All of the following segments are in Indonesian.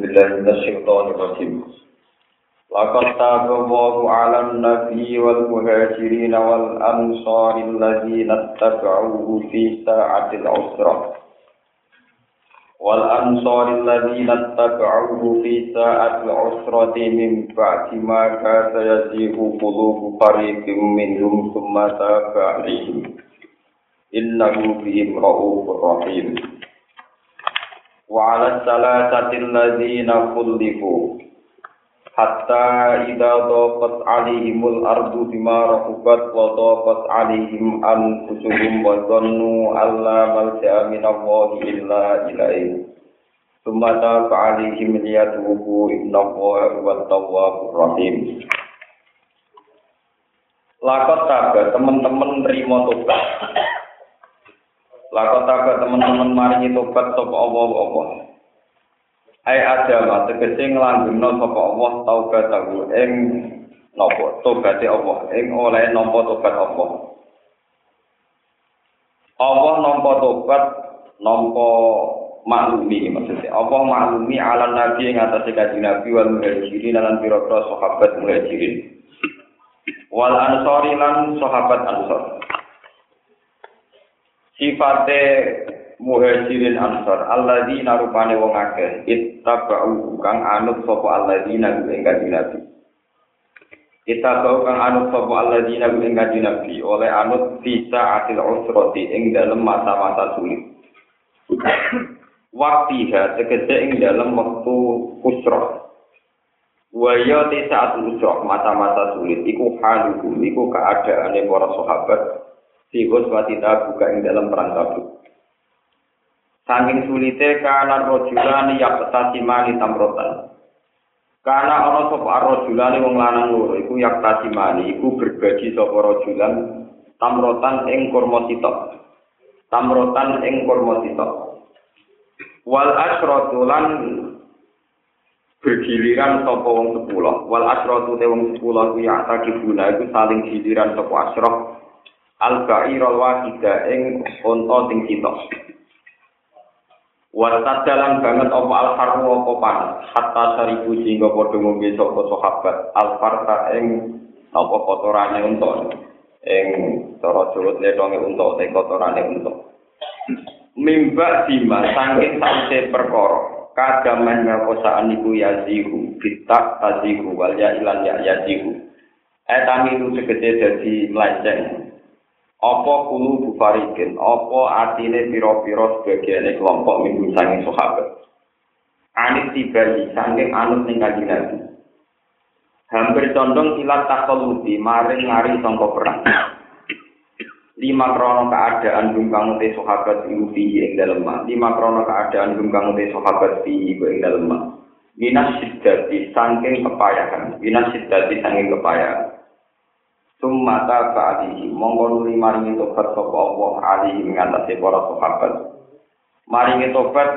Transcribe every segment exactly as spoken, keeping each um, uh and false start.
بالله من الشيطان الرجيم لقد تاب الله على النبي والمهاجرين والأنصار الذين اتبعوه في ساعة العسرة والأنصار الذين اتبعوه في ساعة العسرة من بعد ما كاد يزيغ قلوب فريق منهم ثم تاب عليهم إنه بهم رؤوف رحيم وعلى الثلاثة الذين خلفوا حتى إذا ضاقت عليهم الأرض بما رحبت وضاقت عليهم أنفسهم وظنوا أن لا ملجأ من الله إلا إليه ثم تاب عليهم ليتوبوا إن الله هو التواب الرحيم. Lakot taga teman-teman nerima tobat. Lakot taga teman-teman maringi tobat sapa Allah-Allah. Ai adama tegese nglanggengno sapa Allah taubat tahu ing napa tobate Allah ing oleh nampa tobat Allah. Allah nampa tobat nampa maklumi maksudnya Allah maklumi ala nabi ing atase kanjeng Nabi wal muhajirin lan pira-pira sahabat muhajirin wal ansori lan sahabat ansor. Sifate muhajirin ansor alladzina rupane wong akeh ittaba'u kang anut sapa alladzina ing kanjeng Nabi. Ittaba'u kang anut sapa alladzina ing kanjeng Nabi oleh anut bisa atil usrati ing dalem masa-masa sulit. Waktiha tegese ing dalem wektu usrah. Wa ya saat usrah masa-masa sulit iku haluhu iku keadaane para sahabat sihus watita buka ing dalem perang Tabuk. Saking sulite kana rajulani yaqtasimani tamrotan. Kana ana sapa rajulani wong lanang loro iku yaqtasimani iku berbagi sapa rajulan tamrotan ing kurma sitok. Tamrotan ing kurma sitok. Wal asratu lan bergiliran sapa wong sepuluh. Wal asratu te wong sepuluh kuwi atakibuna iku saling giliran sapa asrah al-ba'irul wahida ing unta sing sitok. Wasat dalam banget apa al-harru apa panas hatta saribu sehingga padha ngombe sapa sahabat al-farta ing apa kotorane unta ing cara Jawa letonge unta te kotorane unta mimba dima saking sause perkara kadaman ngakosaan iku yazihu bitak tazihu wal ya ilan ya yazihu etami itu segede dadi melenceng. Apa kulu bufarikin, apa artine piro-piro sebagiannya kelompok minggu sanging sahabat. Anit tibali, sanging anut ning kanjeng Nabi. Hampir condong ilat takoludi, maring ngari sangka perang. Lima krono keadaan bungkang te sahabat iuti ing dalem. Lima krono keadaan bungkang te sahabat ing dalem. Minas siddati, sanging kepayahan. Minas siddati, sanging kepayahan. Sumata ba'dihi monggo nuli maringi tobat sapa Allah alihi ngatasi para sahabat. Maringi tobat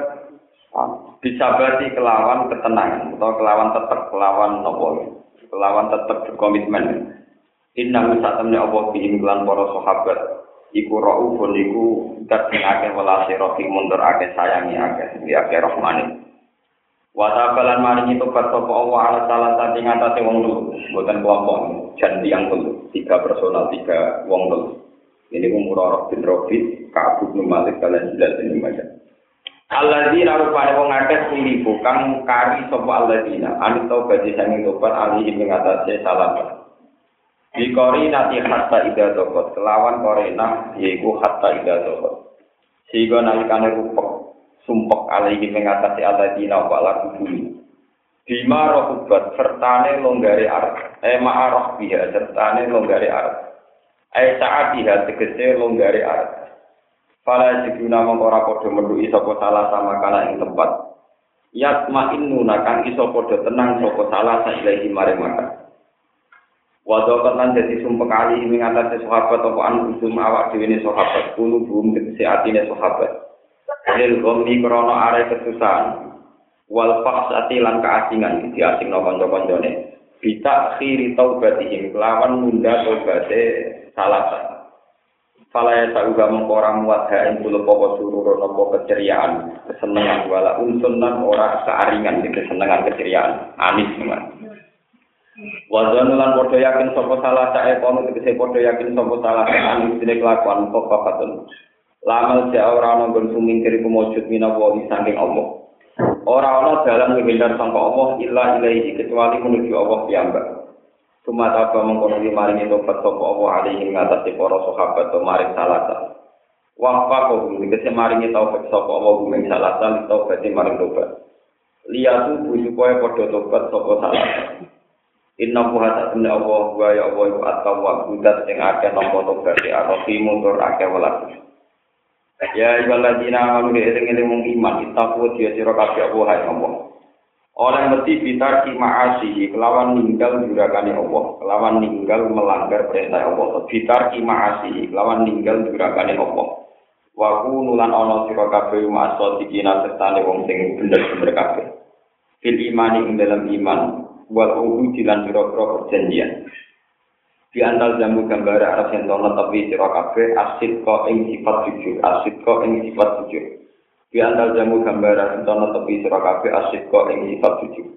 disabati kelawan ketenangan atau kelawan tetep kelawan napa kelawan tetep berkomitmen. Inna satamne Allah bihim lan para sahabat iku raufun iku dat sing akeh welase rahim mundur akeh sayangi akeh akeh rahmane. Wa ta'alan maringi tobat sapa Allah ala salah satu ngatasi wong loro mboten kelompok janji yang loro tiga personal tiga wong loro ini Murarah bin Rabi' Ka'ab bin Malik kalian jelas ini macam alladzina rupane wong akeh silibu kang kari sapa alladzina anu tobat sing tobat alihi ngatasi salah dikori nati hatta ida tobat kelawan korena yaiku hatta ida tobat sehingga nalikane rupek sumpek alaihi mengatasi alladzina wa la kubuli bima rohubat sertane longgare arep eh ma'arah biha sertane longgare arep eh saat biha tegese longgare arep fala jiduna mongora padha menduki sapa salah sama kana ing tempat yatma'innuna kang iso padha tenang sapa salah sailahi mare makan wadha lan dadi sumpek alaihi mengatasi sahabat apa anu usum awak dhewe ne sahabat kulo bum tegese atine sahabat lil ghammi krana are kesusahan wal faksati lan kaasingan diasingno kanca-kancane bita khiri taubatihim kelawan nunda taubate salatan Falaya sauga mengkora muat ha ing kula apa surur napa keceriaan, kesenengan wala unsun lan ora kearingan iki kesenengan keceriaan, anis teman. Wazan lan padha yakin sapa salah sae kono tegese padha yakin sapa salah anis dene kelakuan kok papatun. Lamal ja ora ana nggon sumingkir iku mujud minawa saking Allah. Ora ana dalan menghindar sangka Allah illa ilaihi kecuali menuju Allah piyambak. Sumata apa mengkono di maring tobat sapa Allah alaihi ngatasi para sahabat to maring salasa. Waqfa kok dikese maring taubat sapa Allah gumeng salasa taubat maring tobat. Liyatu supaya padha tobat sapa salasa. Inna buha ta'ala Allah wa ya Allah iku at-tawwab budat sing akeh nampa tobat e arti mundur akeh welas. Ya ibaladina amanu eling-eling mung iman itaku dia sira kabeh Allah Allah. Oleh mesti bitar ki ma'asihi kelawan ninggal jurakane Allah, kelawan ninggal melanggar perintah Allah. Bitar ki ma'asihi kelawan ninggal jurakane Allah. Wa kunulan ana sira kabeh ma'asot dikina sertane wong sing bener-bener kabeh. Fil imani ing dalam iman wal uhudi lan pira-pira perjanjian. Di antal jamu gambar arah yang tono tapi sira kabeh asid kok ing sifat jujur, asid kok ing sifat jujur. Di antal jamu gambar tono tapi sira kabeh asid kok ing sifat jujur.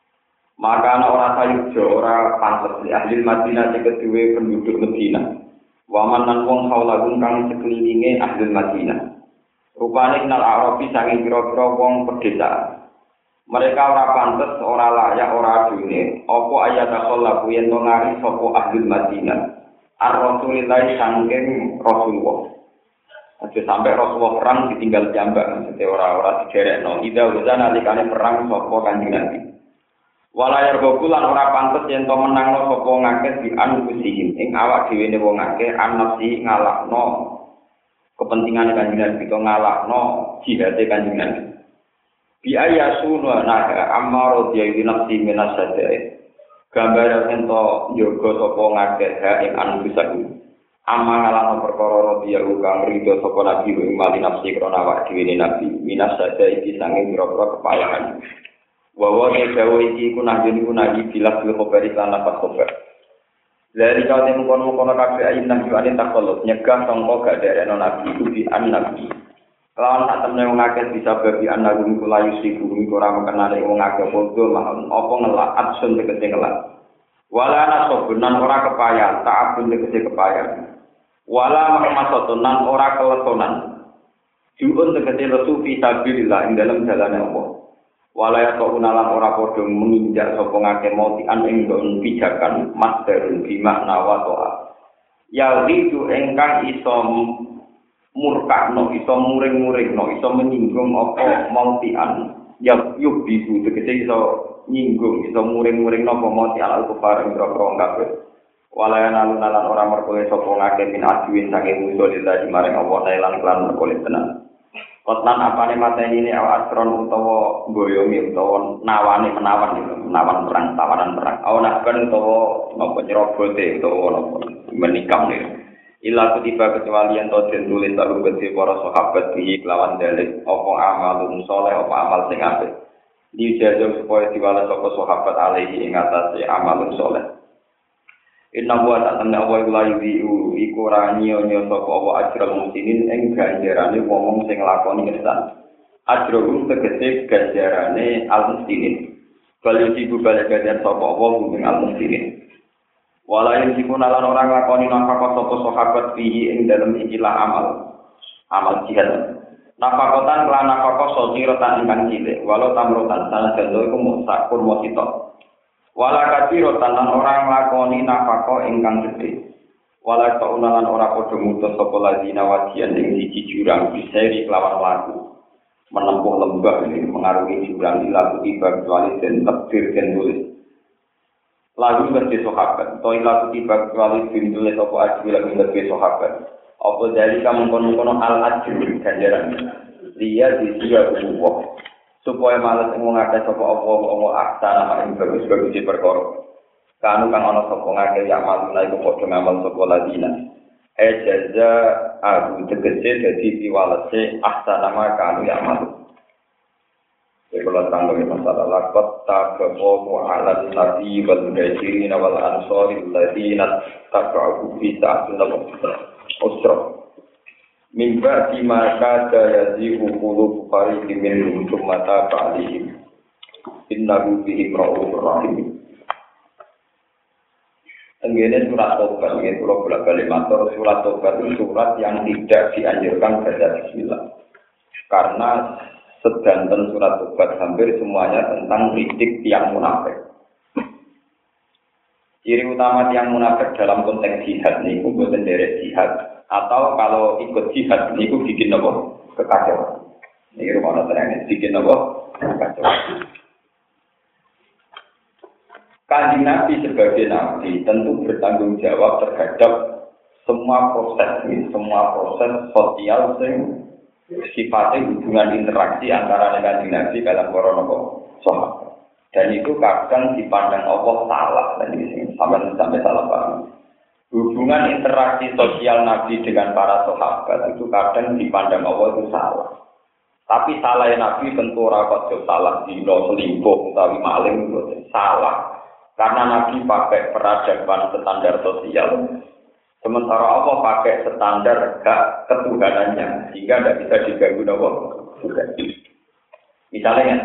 Maka ana ora sayujo ora pantes di ahli Madinah sing kedue penduduk Madinah. Waman lan wong haulagun kang sekelilinge ahli Madinah. Rupane kenal Arabi saking pira-pira wong pedesaan. Mereka ora pantes, ora layak, ora adune. Apa ayat akhlaku yen to ngari sapa ahli Madinah. Ar-Rasulillah saking Rasulullah. Aja sampai Rasulullah perang ditinggal jambak, mesti ora-ora digerekno. Ida wazana alikane perang sapa Kanjeng Nabi. Walayar gokulan ora pantes yen to menangno sapa ngakeh di anfusihim ing awak dhewe ne wong akeh anasi ngalahno kepentingan Kanjeng Nabi to ngalahno jihate Kanjeng Nabi. Bi ayasuna naga amaro diawi nafsi minasadae gambar ento yoga sapa ngakeh ing anfusaku amma ngalahno perkara dia kang rido sapa nabi ing mali nafsi krana awak dhewe nabi minasadae iki sange pira-pira kepayahan wawa ne dawa iki ku najeni ku nabi bilas bil khabari lan lapat khabar dari kau temu kono-kono kabeh ayin nang juane takolot nyegah sangka gak derekno nabi ubi an nabi. Lawan tak temne wong akeh bisa babi anak guru kula yusiku ora mengenali wong akeh padha mahon apa ngelak absun tegese ngelak. Wala nasobunan ora kepayan, tak abun tegese kepayan. Wala maksatunan ora keletonan. Juun tegese lesu fi sabilillah ing dalam jalane Allah. Wala ya unalan ora padha menginjak sapa ngake moti an ing don pijakan masdarun bi makna wa ta'a. Ya itu engkang iso murkakno iso muring-muringno iso menyinggung apa mautian ya yuk bisu tegese iso nyinggung iso muring-muringno apa mauti alal kufar ing rokro kabeh walayana lunalan ora merkole sapa ngake min aduin saking musuh lillahi maring Allah lan lan merkole tenan kotlan apane mateni ini awak astron utawa boyomi utawa nawane menawan menawan perang tawanan perang ana kan utawa napa nyerobote utawa napa menikam nih ila kutiba kecuali yang to den tulis karo gede para sahabat iki kelawan dalil apa amalun saleh apa amal sing apik dijajo supaya diwales sapa sahabat alaihi ing atase amalun saleh inna wa ta'ala wa la yuzi'u iku ora nyonya sapa wa ajral muslimin ing ganjarane wong sing nglakoni ihsan ajrul tegese ganjarane al-muslimin bali iku bali ganjar sapa wong ing al-muslimin walain dikunalan orang lakoni nafkah sapa sahabat fihi ing dalem ikilah amal amal jihad nafkahan lan nafkah sodhirotan ingkang cilik walau tamrotan salah jalo iku musakur mosito wala kacirotan lan orang lakoni nafkah ingkang gedhe wala kaunalan ora padha mutus sapa ladina wadian ing siji jurang biseri kelawan laku menempuh lembah ini mengarungi jurang ilaku tiba kecuali den takdir den tulis lagu ngerti sahabat, toh lagu tiba kecuali bintulis apa ajwi lagu ngerti sahabat. Apa dari kamu kono-kono al ajwi ganjaran. Dia disiap Allah supaya malas ngomongake sapa apa apa aksana ing bagus-bagus di perkara. Kanu kang ana sapa ngake ya malu iku padha ngamal sapa ladina. Eh jaza aku tegese dadi piwalese aksana kanu ya malu. Kalau tanggung masalah lakot tabawu ala nabi wal muhajirin wal ansori alladziina tabauhu fi sa'atil usra Mimba di maka daya di hukulu bukari dimin untuk mata kali innahu bihim ra'ufur rahim. Tenggene surat Tobat, ini kalau bolak-balik matur, surat Tobat itu surat yang tidak dianjurkan baca bismillah. Karena sedanten surat Tobat hampir semuanya tentang kritik tiang munafik. Ciri utama tiang munafik dalam konteks jihad ini, itu bukan derek jihad. Atau kalau ikut jihad ini, itu bikin apa? Kekacauan. Ini rumah nonton bikin apa? Kekacauan. Kanjeng Nabi sebagai Nabi tentu bertanggung jawab terhadap semua proses ini, semua proses sosial yang sifatnya hubungan interaksi antara Kanjeng Nabi dalam korona sahabat. Dan itu kadang dipandang Allah salah dan ini sampai sampai salah paham. Hubungan interaksi sosial Nabi dengan para sahabat itu kadang dipandang Allah itu salah. Tapi salah Nabi tentu rapat salah dino selingkuh utawi maling itu salah. Karena Nabi pakai peradaban standar sosial, sementara Allah pakai standar hak ketuhanannya, sehingga tidak bisa diganggu Allah juga. Misalnya,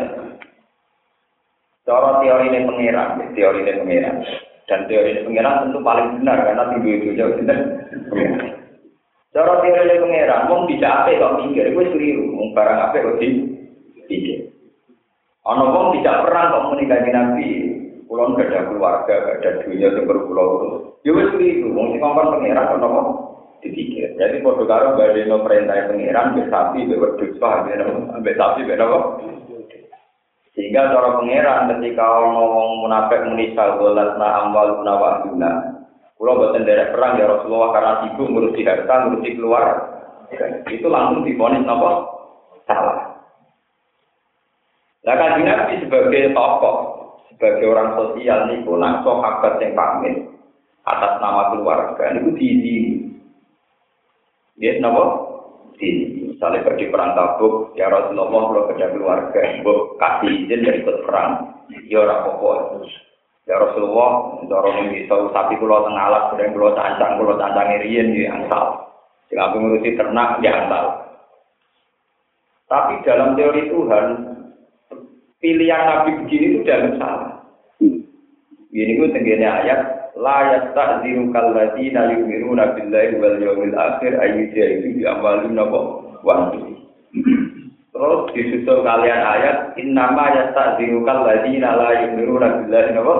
cara teori ini pengiran, teori ini pengiran, dan teori ini pengiran tentu paling benar karena tinggi itu jauh benar. Cara teori ini pengiran, mau tidak apa kok mikir, gue keliru, mau barang apa kok dipikir. Ono wong tidak perang kok menikahi Nabi. Kulon gak ada keluarga, gak ada dunia yang berpulau. Ya wes itu, mungkin ngomong pengiran atau ngomong dipikir. Jadi kalau karo badeno perintah pengiran, besapi, berdua, ambil sapi, berapa? Sehingga cara pengiran ketika ngomong munafik menisal dolat na amwal nawakuna. Kulo boten derek perang ya Rasulullah karena sibuk ngurusi harta, ngurusi keluar. Itu langsung divonis apa? Salah. Lah kan Nabi sebagai tokoh sebagai orang sosial nih, nak sahabat yang pamit atas nama keluarga, itu diizi. Dia nama diizi. Misalnya pergi perang Tabuk, ya Rasulullah kalau kerja keluarga, bu kasih izin dari ikut perang, ya orang pokok. Ya Rasulullah, dorong ini tahu sapi pulau tengah alat, sedang pulau cancang, pulau cancang irian di angsal. Jika aku ngurusi ternak, di angsal. Tapi dalam teori Tuhan, pilihan Nabi begini itu tidak salah. Ini itu tenggine ayat la yasta'dziru kalladzina yu'minuna billahi wal yawmil akhir ayyujahidu bi amwalihim wa anfusihim. Terus disusul kalian ayat innama yasta'dziru kalladzina la yu'minuna billahi wa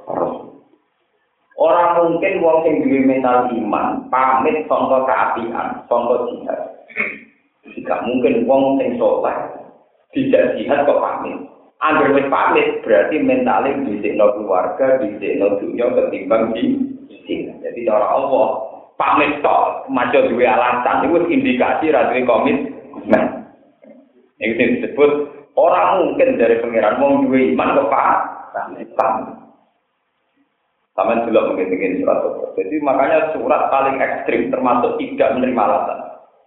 orang mungkin wong sing duwe mental iman pamit sangka kaapian, sangka jihad. Jika mungkin wong sing saleh tidak jihad kok pamit. Angger wis pamit berarti mentale dhisikno keluarga, dhisikno dunya ketimbang di sini. Jadi cara Allah pamit tok, maca duwe alasan iku indikasi ra duwe komitmen. Iki disebut orang mungkin dari pangeran wong duwe iman kok pamit. Sampeyan delok mungkin-mungkin surat Tobat. Jadi makanya surat paling ekstrim termasuk tidak menerima alasan.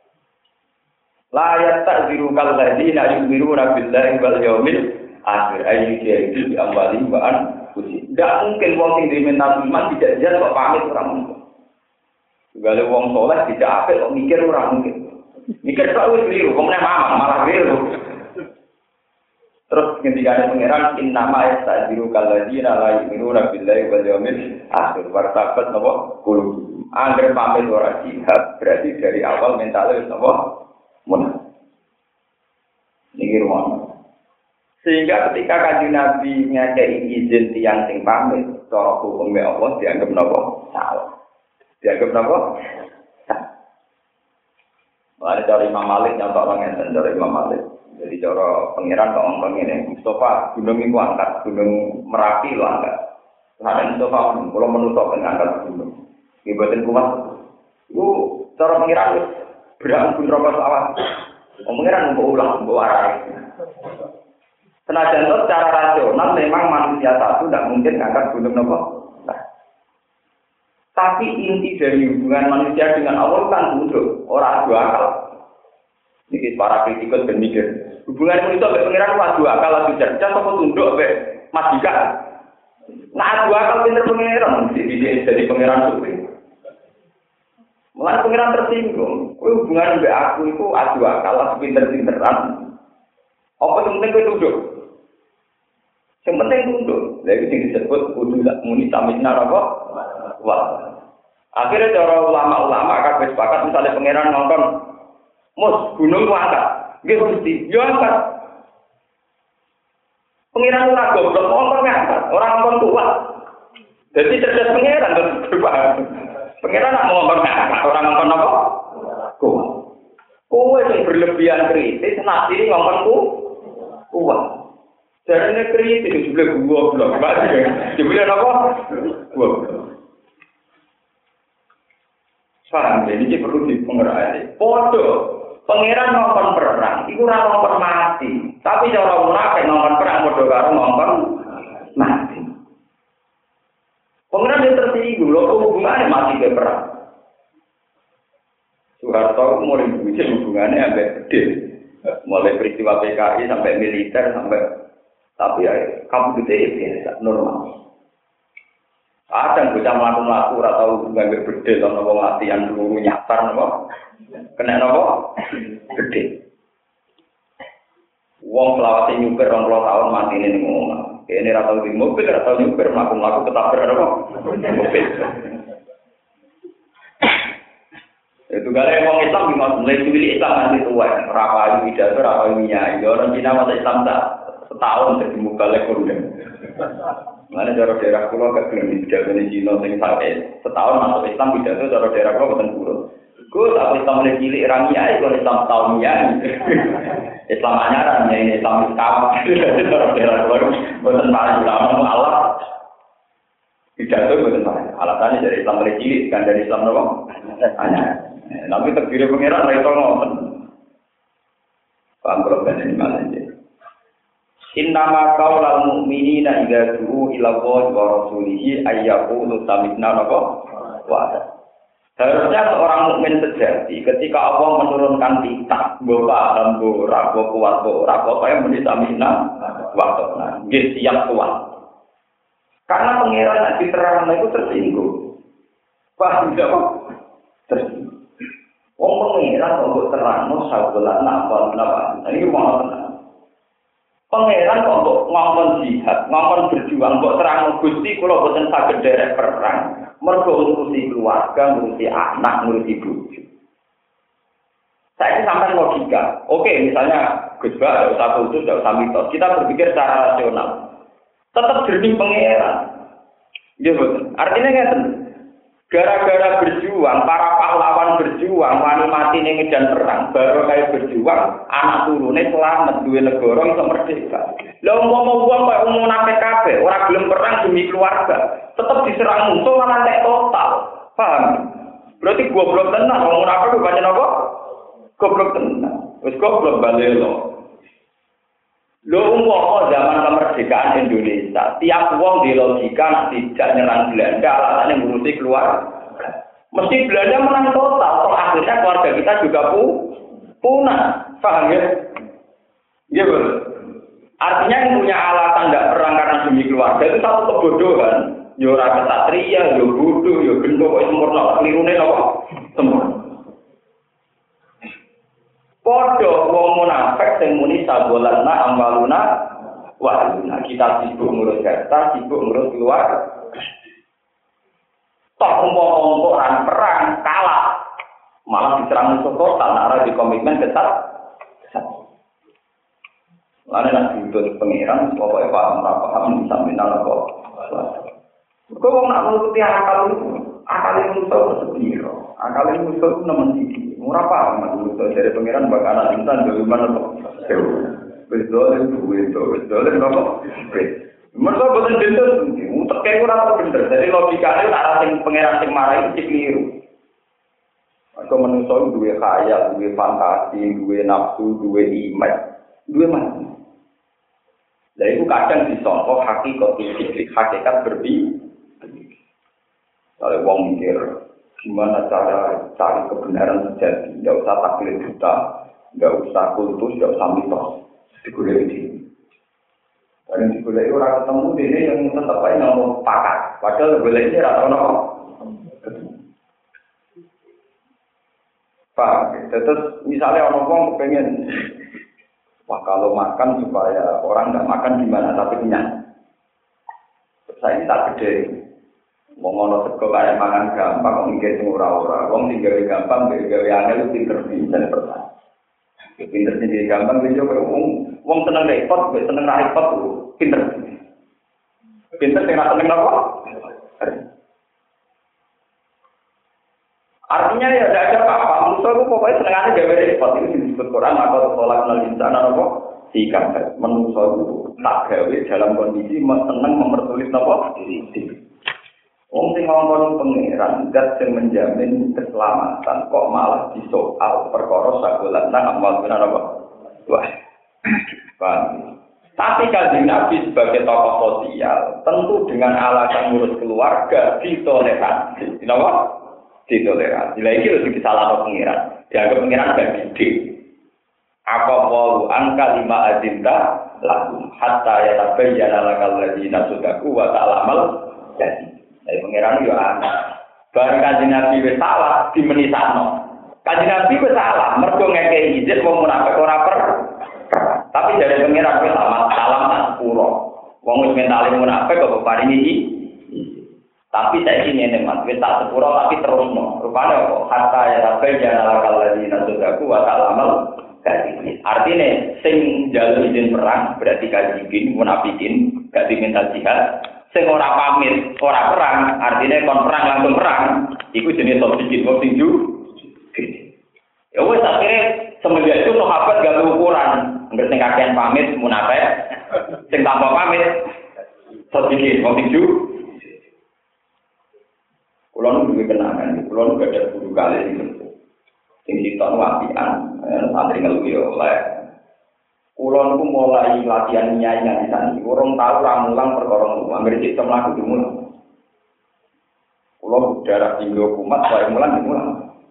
La yasta'dziru kalladzina yu'minuna billahi wal yawmil akhir ayu dia itu diambali bahan putih. Tidak mungkin wong sing dimental iman tidak jelas kok pamit orang mungkin. Segala wong soleh tidak apa kok mikir orang mungkin. Mikir selalu keliru, kemudian mama malah keliru. Terus ketika ada pangeran inna ma yastajiru kalladzina la yu'minuna billahi wal yawmil akhir wartabat napa kulo. Angger pamit ora jihad berarti dari awal mentalnya wis napa munafik. Niki rumah. Sehingga ketika Kanjeng Nabi ngekei izin tiyang sing pamit, cara hukume Allah dianggap napa? Salah. Dianggap napa? Salah. Mari dari Imam Malik nyontok ngenten dari Imam Malik. Jadi cara pangeran kok ngomong ngene, Mustafa gunung iku angkat, gunung Merapi lho angkat. Ada Mustafa kula menutup angkat gunung. Iki boten kuat. Iku cara pangeran wis berangkul rokok sawah. Pangeran mbok ulang, mbok arai. Senajan itu secara rasional memang manusia satu tidak mungkin ngangkat gunung nopo. Nah, tapi inti dari hubungan manusia dengan Allah kan tunduk, orang dua akal. Ini para kritikus berpikir hubungan manusia dengan pengiran itu dua akal, lebih cerdas atau tunduk, be majikan. Nah dua akal pinter pengiran, jadi jadi pengiran suci. Mulai pengiran tersinggung, kowe hubungan mbek aku itu adu akal pinter-pinteran. Apa yang penting kowe duduk? Yang penting duduk. Lha iki disebut kudu muni samisna apa? Wah. Akhirnya cara ulama-ulama kabeh sepakat misalnya pengiran ngongkon mus gunung ku angkat. Nggih Gusti, yo angkat. Pengiran ora goblok ngongkon ngangkat, ora ngongkon kuat. Jadi cerdas pengiran terus paham. Pengiran nak ngongkon ngangkat, ora ngongkon apa? Kuat. Kowe sing berlebihan kritis nasi ngongkon ku kuat. Jarane kritis juga goblok, Pak. Jebule apa? Goblok. Paham, jadi ini perlu dipengerti. Podo, pangeran ngomong perang, itu ora ngomong mati. Tapi cara munafik ngomong perang, podo karo ngomong mati. Pangeran yang tersinggung, loh hubungannya mati ke perang. Soeharto mulai bujuk hubungannya sampai gede. Mulai peristiwa P K I sampai militer, sampai tapi ya, kamu gede biasa, normal. Kadang bocah mlaku-mlaku ora tau nganggo bedhe to napa latihan peluru nyasar napa kena napa gedhe. Wong selawase nyupir rong puluh tahun matine ning omah. Kene ora tau di mobil, ora tau nyupir mlaku-mlaku ketabrak napa mobil. Itu gale wong Islam di mulai cilik Islam nanti tua, ora payu pidato, ora payu nyai. Orang Cina masuk Islam tak setahun jadi mubalek kondang. Mana cara daerah kulo gak gelem pidato ning Cina sing sampai setahun masuk Islam pidato cara daerah kulo boten kurang. Ku tak Islam mulai cilik ra nyai, kok Islam tahun nyai. Islam anyaran nyai Islam Islam. Cara daerah kulo boten parah ulama Allah. Pidato boten parah. Alasannya dari Islam mulai cilik kan dari Islam nopo? Anyaran. Tapi terdiri pengiran ra iso ngoten. Paham kula ben iki malah iki. Innama qaulal mu'minina idza du'u ila Allahi wa rasulihi ayyaqulu sami'na wa harusnya seorang mukmin sejati ketika Allah menurunkan kitab, mbok paham mbok ora kuat mbok ora apa yang muni sami'na wa ta'na. Nggih siap kuat. Karena pengiran nek diterangno itu tersinggung. Paham nggih kok? Tersinggung. Wong pengiran kok terangno sawelan napa napa. Ini mau Pangeran kok ngomong jihad, ngomong berjuang, kok terang Gusti kula boten saged derek perang. Mergo ngurusi keluarga, ngurusi anak, ngurusi bojo. Saya sampai logika. Oke, misalnya Gus Ba, tidak usah khusus, tidak usah mitos. Kita berpikir secara rasional. Tetap jernih pangeran. Ya betul. Artinya ngeten. Gara-gara berjuang, para pahlawan berjuang, wani mati ning medan perang, baru kayak berjuang, anak turune selamat duwe negara iso merdeka. Lah umpama wong kaya umum nate kabeh, ora gelem perang demi keluarga, tetep diserang musuh malah entek total. Paham? Berarti goblok tenan, wong munafik baca napa? Goblok tenan. Wis goblok balelo. Lho umpama zaman kemerdekaan Indonesia, tiap wong di logika tidak nyerang Belanda, alasannya ngurusi keluarga. Mesti Belanda menang total, toh akhirnya keluarga kita juga pu punah. Paham ya? Iya betul. Artinya yang punya alasan tidak perang karena demi keluarga itu satu kebodohan. Yo ora kesatria, yo bodoh, yo gendong, kok sempurna, kelirune apa? Sempurna. Podo wong munafik sing muni sabolana ambaluna wa kita sibuk ngurus harta, sibuk ngurus keluarga. Toh umpama orang perang kalah, malah diserang musuh total, nara di komitmen ketat. Lalu nak diutus pengiran, pokoknya paham paham sampai nala kok. Kau mau nak menuruti akal itu, akal itu musuh sepiro, akal itu musuh nomor tiga. Murah paham, maksudnya dari pengiran bakal anak insan dari mana kok? Betul, betul, betul, betul. Mereka betul betul, untuk kayak kurang apa bener. Jadi logikanya arah sing pengiran sing marah itu keliru. Atau manusia dua khayal, dua fantasi, dua nafsu, dua imaj, dua mana? Nah itu kadang disongkok hakikat fisik, hakikat berbeda. Kalau wong mikir. Gimana cara cari kebenaran sejati? Tidak usah taklid buta, tidak usah kultus, tidak usah mitos. Digulai ini. Dan digulai orang ketemu ini yang tetap aja ngomong pakat. Padahal digulai ini rata-rata Pak, terus misalnya orang orang kepengen, wah kalau makan supaya orang nggak makan gimana tapi kenyang. Saya ini tak gede, mau ngono sego kayak makan gampang, kok mikir sing ora-ora, wong tinggal gampang, gawe angel pinter bisa pertanyaan. Pinter sendiri gampang, bisa wong wong seneng repot, seneng repot, pinter. Pinter sing ra seneng apa? Artinya ya tidak ada apa-apa. Manusia itu pokoknya senengannya gawe repot. Itu disebut Quran atau tolak nal insana apa? Sikap. Manusia itu tak gawe dalam kondisi seneng mempersulit apa? Diri. Wong sing ngomong pangeran zat sing menjamin keselamatan kok malah disoal perkara sagolatna amal benar apa? Wah. Paham. Tapi kalau Nabi sebagai tokoh sosial tentu dengan alasan ngurus keluarga ditoleransi. Kenapa? Ditoleransi. Lagi harus disalahkan pengiran. Dianggap pengiran gak gede. Apa walu angka lima azinta lakum hatta ya tabayyana lakal ladzina sadaku wa ta'lamal jadi. Dari pengiran yo ana. Bareng kanjeng Nabi wis salah dimenisano. Kanjeng Nabi wis salah mergo ngekeki izin wong munafik ora per. Tapi dari pengiran wis salah salam tak pura. Wong wis mentale munafik kok paringi iki. Tapi saya ini nih mas, kita tak sepuro tapi terus no. Rupanya kok kata ya tapi jangan lakal lagi nasudaku watak lamal gaji. Artinya sing jalur izin perang berarti kajikin, munafikin, gak diminta jihad. Sing ora pamit, ora perang, artinya kon perang langsung perang. Iku jenis sobikin, kok tingju. Ya wes akhirnya semenjak itu sahabat gak ukuran. Nggak sing kakean pamit munafik, sing tanpa pamit sobikin, kok tingju. Kulon juga kenangan, kulon juga ada guru kali itu. Sing sitok wapian, santri ngeluwi oleh. Kulon ku mulai latihan nyanyi di sana. Orang tahu ramulang perkorong rumah, nggak sistem lagu dimulai. Kulon darah tinggi kumat, saya mulang dimulai.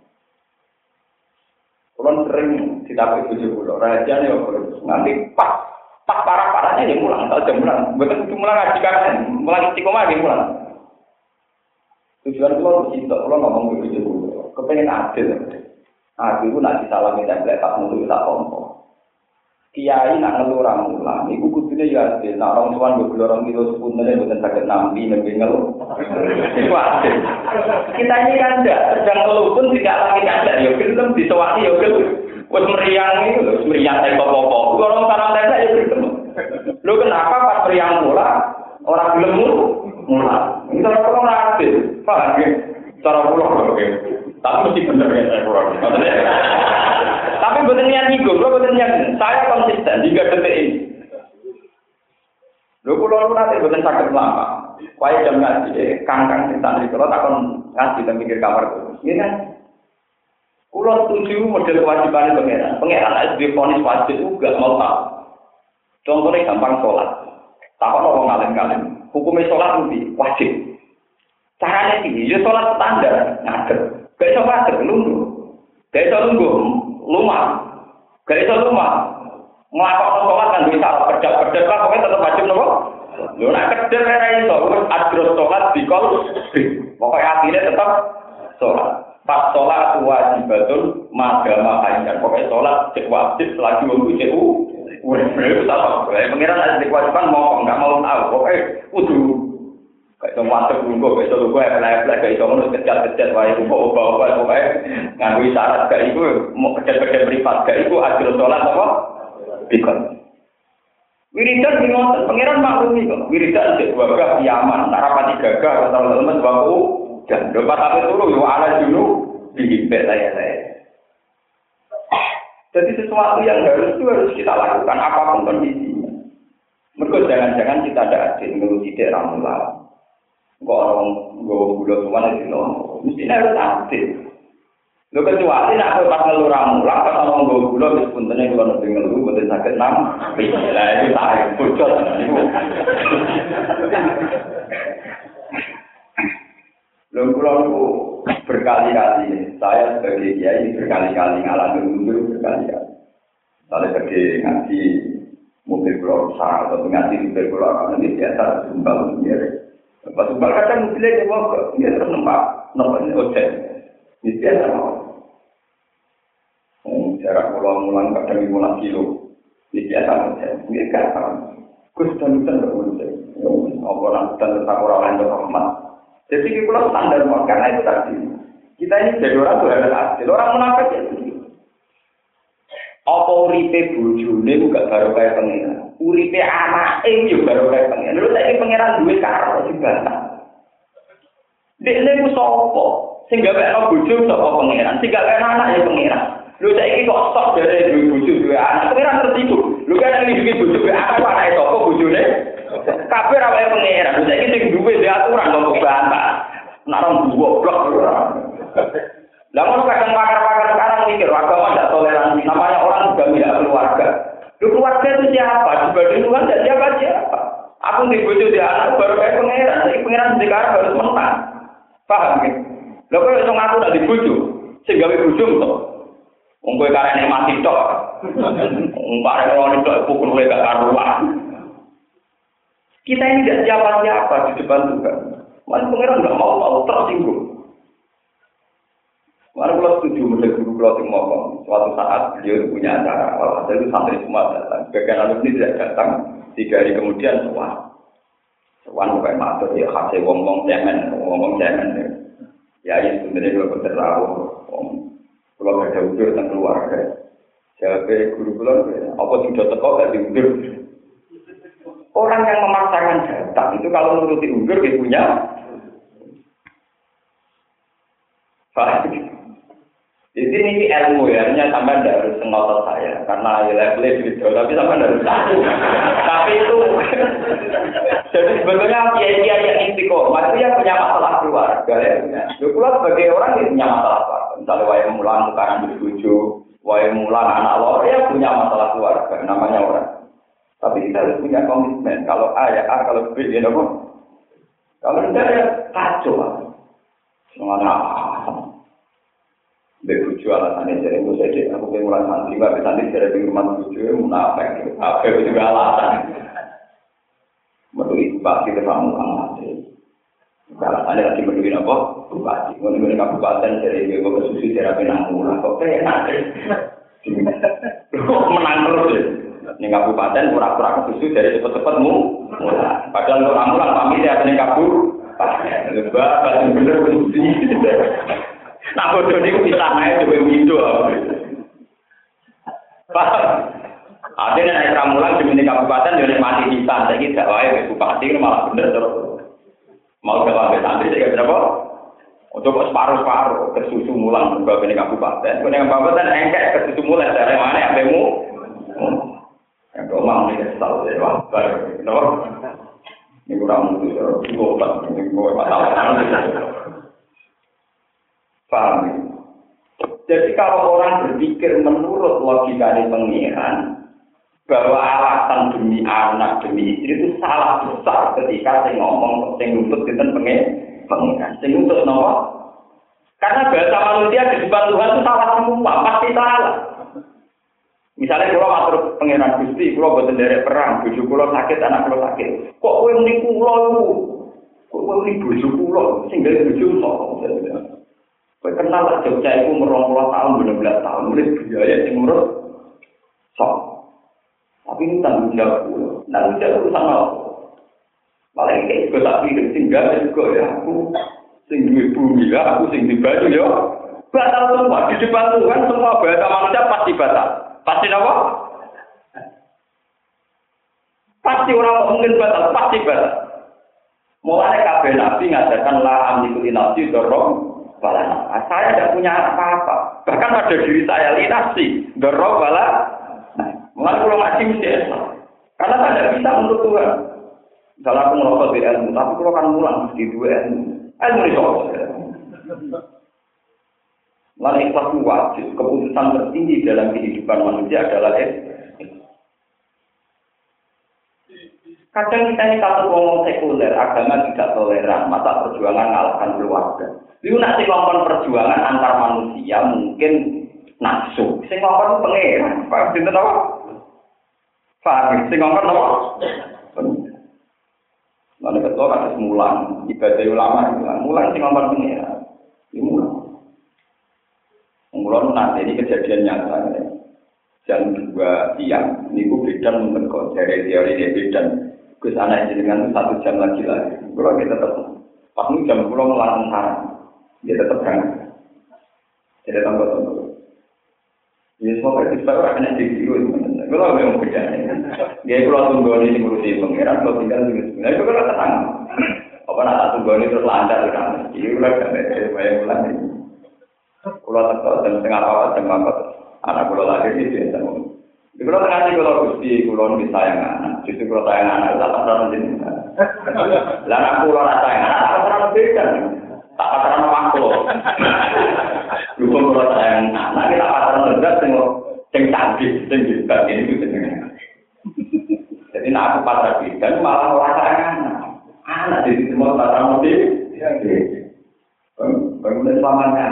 Kulon sering ditapai tujuh puluh, raja nih nanti pas pas parah parahnya dia mulang, tahu jam mulang. Betul betul mulang ngaji kan, mulang istiqomah dia mulang. Tujuan kalau bersih, kalau ngomong begitu dulu, kepengen adil. Adil itu nak disalami template tak mulu tak kompor. Kiai nak ngeluh ramulan, ibu kudunya ya adil. Nak orang tuan dua puluh orang kilo sepunanya bukan sakit nampi nampi ngeluh. Itu adil. Kita ini kan tidak sedang ngeluh pun tidak lagi ada. Ya film disewati ya film. Wes meriang itu, meriang saya pokok. Orang tanam template ya film. Lu kenapa pas meriang mula orang film mula? Ini cara pulang adil, paham ya? Cara pulang oke. Tapi mesti benar ya saya pulang. Tapi betul niat ego, lo betul niat. Saya konsisten hingga detik ini. Lo pulang lu nanti betul sakit lama. Kaya jam ngaji, kangkang santri kalau takon ngaji dan mikir kamar itu. Ini kan, pulau setuju model kewajiban pangeran. Pangeran S D ponis wajib juga mau tahu. Contohnya gampang sholat. Takon orang ngalim-ngalim. Hukumnya sholat lebih wajib. Caranya ini, ya sholat standar, ngadep. Gak bisa ngadep, lundur. Gak bisa lundur, lumah. Gak bisa lumah. Ngelakon sholat kan bisa, kerja-kerja lah, pokoknya tetap wajib, nopo. Lu nak kerja, kaya itu, adros sholat di kol, pokoknya akhirnya tetap sholat. Pas sholat wajibatun, magama kainan. Pokoknya sholat cek wajib, selagi waktu cek u. Udah, itu sama. Pengiran ada kewajiban mau nggak mau tahu. Pokoknya udah kayak semua tergunggu, kayak semua gue apply-apply, kayak semua harus kejar-kejar, wah itu bawa-bawa, pokoknya nganggu syarat kayak itu, mau kejar-kejar privat, kayak itu adil sholat apa? Bikon. Wiridan bingung, pengiran maklumi kok. Wiridan cek wabah kiaman, narapati gagah, atau teman baku, dan dapat apa dulu, yo ala dulu, dihimpit saya-saya. Jadi sesuatu yang harus itu harus kita lakukan apapun kondisinya. Mereka jangan-jangan kita ada adil menguji daerah mula. Kok orang gue gula semua di lono, mestinya harus adil. Lo kecuali nak pas ngeluh ramulah, pas orang gue gula meskipun tenang kalau nanti ngeluh betul sakit nam, lah itu tarik bocor. Lo pulau berkali-kali, saya sebagai kiai berkali-kali ngalami mundur berkali-kali. Kalau pergi ngaji mobil pulau rusak atau ngaji mobil pulau orang ini biasa sumbang sendiri. Pas sumbang kadang mobilnya dia mau dia terus nempak, nempak ini ojek. Ini biasa mau. jarak pulau mulang kadang lima belas kilo. Ini biasa saja. Ini kan Gus dan hutan berkumpul. Orang hutan tetap orang lain berhormat. Jadi kita standar karena itu tadi. Kita ini jadi orang tuh harus adil. Orang munafik itu. Apa uripe bojone gak baru kaya pengiran. Uripe anake yo baru kaya pengiran. Lha saiki pengiran duwe karo dibantah. Dekne ku sapa? Sing gawekno bojo sapa pengiran? Sing gawekno anak ya pengiran. Lho saiki kok stok dari duwe bojo duwe anak. Pengiran tertipu. Lho kan iki duwe bojo duwe anak anake sapa bojone? Kabeh ra wae pengiran. Lho saiki sing duwe dhe aturan kok bantah. Nek orang goblok. Lah ngono kadang pakar-pakar sekarang mikir agama tidak toleransi. Namanya orang juga tidak keluarga. Lu keluarga itu siapa? Dibanding Tuhan tidak siapa siapa. Aku di bojo di anak baru kayak pangeran. Jadi pangeran sekarang harus menang. Paham ya? Lah kok iso ngaku nak di bojo? Sing gawe bojo to. Wong kowe karene mati tok. Wong karene ngono tok pukul kowe gak karuan. Kita ini tidak siapa-siapa di depan Tuhan. Mas pangeran enggak mau mau tersinggung. Mana kalau setuju model guru kalau yang ngomong suatu saat beliau punya acara, kalau ada itu santri semua datang. Bagian alumni tidak datang, tiga hari kemudian semua, semua bukan matur ya hasil ngomong cemen, ngomong cemen. Ya ini sebenarnya kalau berterlalu, kalau ada udur tentang keluarga, jadi guru kalau apa sudah teko gak diudur. Orang yang memaksakan datang itu kalau menuruti udur dia punya. Di sini ilmu ya, hanya sampai tidak harus ngotot saya, karena levelnya gitu, tapi sampai tidak harus tahu. Tapi itu, jadi sebetulnya kiai-kiai yang istiqomah itu yang punya masalah keluarga ya. Keluar sebagai orang yang punya masalah keluarga. Misalnya wayang mulan sekarang dibujuk, wayang mulan anak lor ya punya masalah keluarga, namanya orang. Tapi kita harus punya komitmen. Kalau A ya A, kalau B ya apa? Kalau tidak ya kacau. Semuanya. Bebuju alasannya jadi itu saja. Aku pengen mulai santri, nggak santri dari rumah bebuju, munafik. Apa itu juga alasan. Menurut bupati ke kamu kamu alasannya lagi menurut apa? Bupati. Menurut kabupaten dari Jawa ke Susi dari Penanggulan. Kok enak? Menang terus. Ini kabupaten pura-pura ke Susi dari cepet-cepetmu. Padahal untuk ramulan kami dia punya kabur. Lebah, batu bener Susi. Nah, bodoh ini bisa naik juga window. Paham? Artinya naik ramulan di kabupaten jadi mati hitam. Saya kira wae bupati ini malah bener terus. Mau jalan ke santri saya kira apa? Untuk separuh-separuh ke susu mulang juga di kabupaten. Kalau kabupaten engkek ke susu mulang dari mana ambemu? Yang domang ini kesal dari wabar. Ini kurang mutu terus. Ini gue masalah. Paham? Jadi kalau orang berpikir menurut logika dari pengiran bahwa alasan demi anak demi istri itu salah besar ketika saya ngomong saya nuntut kita pengiran, saya nuntut nomor. Karena bahasa manusia di depan Tuhan itu salah semua, pasti salah. Misalnya kalau atur pengiran Gusti, kalau buat dari perang, bujuk kalau sakit, anak kalau sakit, kok kowe muni kula iku? Kok kowe muni bujuk kula, sing gawe bujuk kok. Kowe kenal lah Jogja itu merong puluh tahun, dua belas tahun, mulai biaya yang ngurus sok. Tapi ini tanggung jawab gue, tanggung jawab urusan apa? Malah ini juga tak pikir, tinggal juga ya, aku sing duwe bumi ya, aku sing di baju ya. Batal semua, di depan Tuhan semua bahasa manusia pasti batal. Pasti apa? Pasti orang mungkin batal, pasti batal. Mulai kabeh nabi ngajarkan la amliku li nafsi dorong. Bala, saya tidak punya apa-apa. Bahkan pada diri saya linasi, dorong bala. Mulai kalau ngaji mesti esok. Karena saya tidak bisa untuk Tuhan. Misalnya aku merokok di ilmu, tapi kalau kan mulang mesti dua ilmu. Ilmu ini soal. Lalu ikhlas wajib. Keputusan tertinggi dalam kehidupan manusia adalah ikhlas. Kadang kita ini kalau ngomong sekuler, agama tidak toleran, masa perjuangan mengalahkan keluarga. Itu nanti ngomong perjuangan antar manusia mungkin nafsu. Sing ngomong pengeran, Pak Sinten apa? Pak, sing ngomong apa? Lalu betul ada mulang, ibadah ulama mulang, mulang sing ngomong pengeran. Ini mulang. Mulang nanti ini kejadian nyata. jam dua siang, niku bedan menurut dari teori dia bedan. Gus anak jenengan itu satu jam lagi lagi. Kalau kita tetap pas ini jam pulau melarang sarang, dia tetap berangkat. Jadi tambah-tambah. Ya semua kita orang yang jadi guru itu. Kalau memang beda. Dia kalau tunggu ini ngurusi pengiran, kalau tinggal di sini, itu kan tenang. Apa nak tunggu ini terus lancar kan? Jadi udah kan ada banyak bulan ini. Kalau tetap jam setengah apa jam apa anak pulau lagi itu biasa. Di pulau tengah ini kalau gusti pulau bisa yang anak, justru pulau sayang anak tak pernah menjadi. Lalu aku pulau rasa yang anak tak pernah beda. Tak pernah maklo. Dukung pulau sayang anak kita pernah berat tengok yang canggih, yang juga ini itu jenenge. Jadi nak aku pasrah bidan malah rasa anak. Anak di situ mau pasrah mobil. Bangunan selamanya.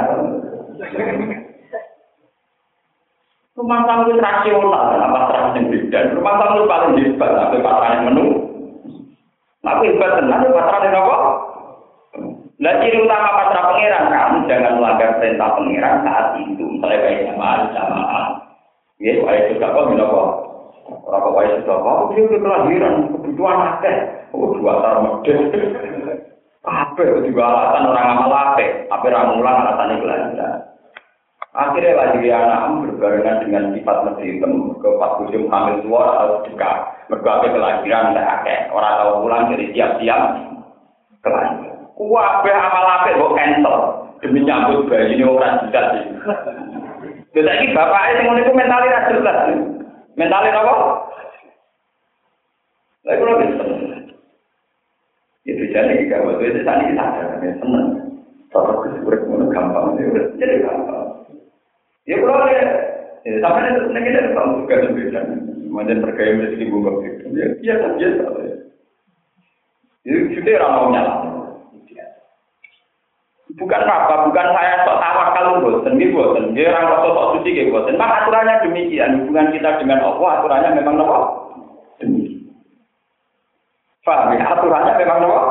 Rumah tangga itu rasional, apa terang bidan. Rumah tangga itu paling hebat, tapi pasrah menu. Tapi hebat tenang, pasrah yang apa? Nah, ciri utama pasrah pengiran, kamu jangan melanggar perintah pengiran saat itu. Misalnya kayak jamaah, jamaah. Ya, saya sudah kok, bila kok. Orang kok saya sudah kok, dia udah kelahiran, kebutuhan akeh. Oh, dua tar model. Apa juga alasan orang amal apa? Apa ramulan alasan kelahiran. Akhirnya lagi anak berbarengan dengan sifat lebih hitam. Ke pas musim hamil tua atau dekat. Berbagai kelahiran, tidak akeh. Orang tahu pulang jadi siap-siap kelahiran. Kuwabe amal apik kok cancel demi nyambut bayi ini orang jelas sih. Jadi bapaknya sing ngono iku mentale ra jelas. Mentale apa? Lah kula wis itu jadi kita waktu itu tadi kita ada seneng. Kalau kesurat ngono gampang jadi gampang. Ya kula ya sampai itu nek kita tahu juga beda. Macam terkait rezeki bunga itu. Ya biasa biasa. Itu sudah ramai nyala. Bukan apa, bukan saya sok tawakal boten, nggih boten. Nggih ora kok sok suci nggih boten. Mak aturannya demikian, hubungan kita dengan Allah aturannya memang apa? Demikian. Paham ya? Aturannya memang apa?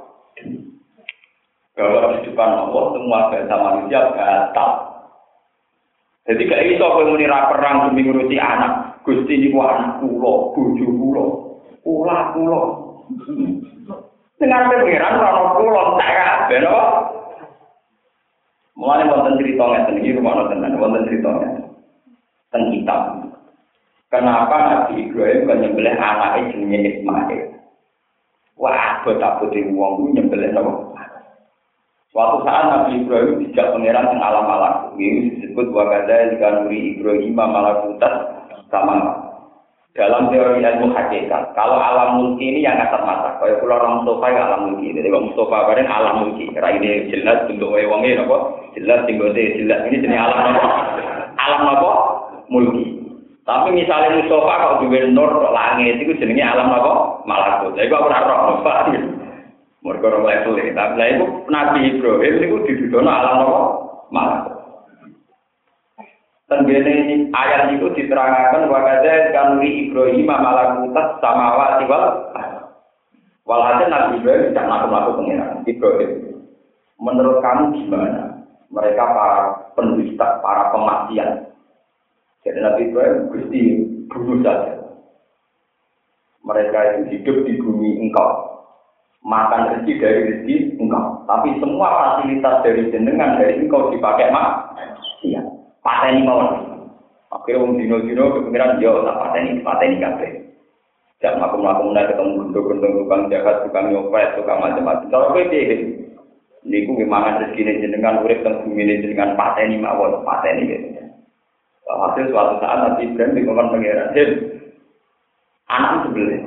Kalau di depan Allah semua bahasa manusia batal. Jadi gak iso kowe muni ra perang demi ngurusi anak. Gusti niku anak kula, bojo kula, kula kula. Dengan pengiran ora kula tak kabeh lho. Mulane wonten crita ngeten iki rumono tenan wonten crita ngeten. Teng kitab. Kenapa Nabi Ibrahim kan nyembelih anake jenenge Ismail? Wah, abot-abote wong ku nyembelih napa? Suatu saat Nabi Ibrahim dijak pangeran teng alam malakut. Ini disebut wa kadza likanuri Ibrahim malakutat sama. Dalam teori ilmu hakikat, kalau alam mulki ini yang kasat mata, kalau pulau orang Mustafa ya alam mulki, jadi Bang Mustafa bareng alam mulki, karena ini jelas bentuk wewangnya, apa? Jelas tinggalnya jelas ini jenis alam apa? Alam apa? Mulki. Tapi misalnya Mustafa kalau diwen nur langit itu jenisnya alam apa? Malakut. Jadi aku pernah roh Mustafa, mereka orang level ini. Tapi itu Nabi Ibrahim itu didudono alam apa? Malakut. Tenggene ayat itu diterangkan wakadza kanuri Ibrahim malakutas samawati wal walhasil Nabi Ibrahim tidak melakukan pengiran Ibrahim. Menurut kamu gimana? Mereka para pendusta, para pemaksiat. Jadi Nabi Ibrahim Gusti bunuh saja. Mereka itu hidup di bumi engkau, makan rezeki dari rezeki engkau. Tapi semua fasilitas dari jenengan dari engkau dipakai maksiat. Pateni mawon. Akhirnya wong dino-dino kepikiran yo tak pateni, pateni kabeh. Jak makum-makum mulai ketemu gendong-gendong tukang jahat, tukang nyopet, tukang macam-macam. Kalau kowe piye? Niku gimana rezekine jenengan urip teng bumi jenengan pateni mawon, pateni gitu. Hasil suatu saat Nabi Ibrahim dikon pangeran, "Hil, anak sebelah."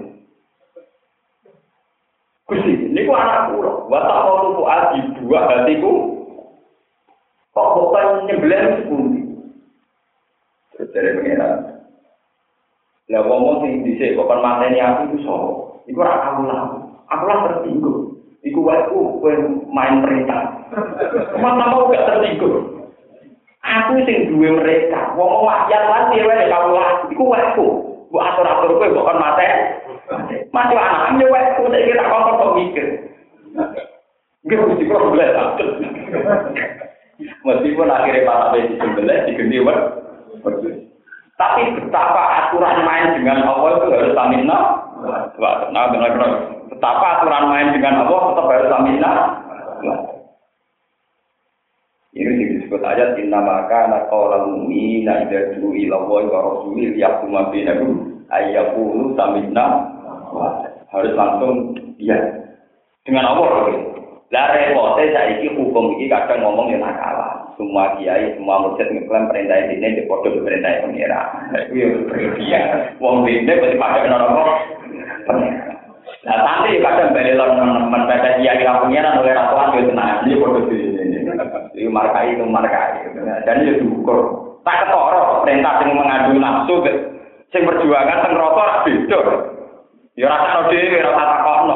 Gusti, niku anak kula. Wa ta'awlu fu'adi dua hatiku. Kok kok nyembelih sepundi? Terus dari pengiran. Lah ngomong sing dhisik kok mateni aku iku sapa? Iku ora aku lah. Aku lah tertinggal. Iku wae ku kowe main perintah. Masa mau gak tertinggal. Aku sing duwe mereka. Wong wakyat lan dhewe karo lah. Iku wae ku. Mbok atur-atur kowe kok kon mateni. Mati anak yo wae ku tak kira kok kok mikir. Nggih mesti kok boleh tak. Meskipun akhirnya para besi sembelih diganti wer. Tapi betapa aturan main dengan Allah itu harus samina. Wah, nah benar-benar. Betapa aturan main dengan Allah tetap harus samina. Ini disebut ayat inna maka naqala mu'mina idza du'u ila Allahi wa rasulihi yahkum bainahum ayyaqulu samina. Harus langsung iya. Dengan Allah. Lah repote saiki hukum iki kadang ngomong ya nakal. Semua kiai, semua mursyid ngeklaim perintah ini di foto perintah pengira. Itu yang berlebihan. Wong ini pasti pada orang pengira. Nah nanti kadang balik teman-teman pada kiai pengira oleh ratuan itu tenang. Ini foto ini. Ini markai itu markai. Dan itu diukur. Tak ketoro perintah yang mengadu nafsu, yang perjuangan teng rata beda. Ya rasa dhewe, rasa takokno.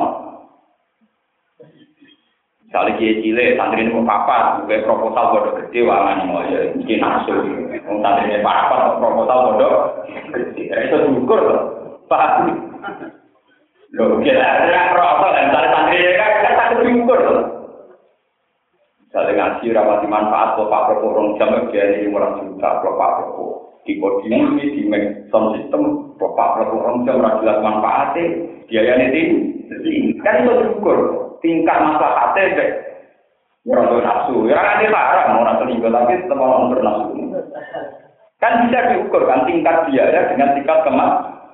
Misalnya kiai cilik, santri ini papat, gue proposal bodoh gede, wangan mau ya mungkin nafsu. Santri ini papat, proposal bodoh gede. Itu diukur loh, paham? Loh, kira ada proposal, misalnya santri ini kan tak diukur loh. Misalnya ngaji rapati manfaat, bapak proposal jam dia ini orang juta, bapak proposal di podium ini di sound system, bapak proposal jam rajulat manfaatnya, biaya ini kan itu diukur. Tingkat masalah hati deh, orang nafsu, ya kan dia parah, mau nafsu tinggal tapi tetap orang bernafsu. Kan bisa diukur kan tingkat biaya dengan tingkat kemas.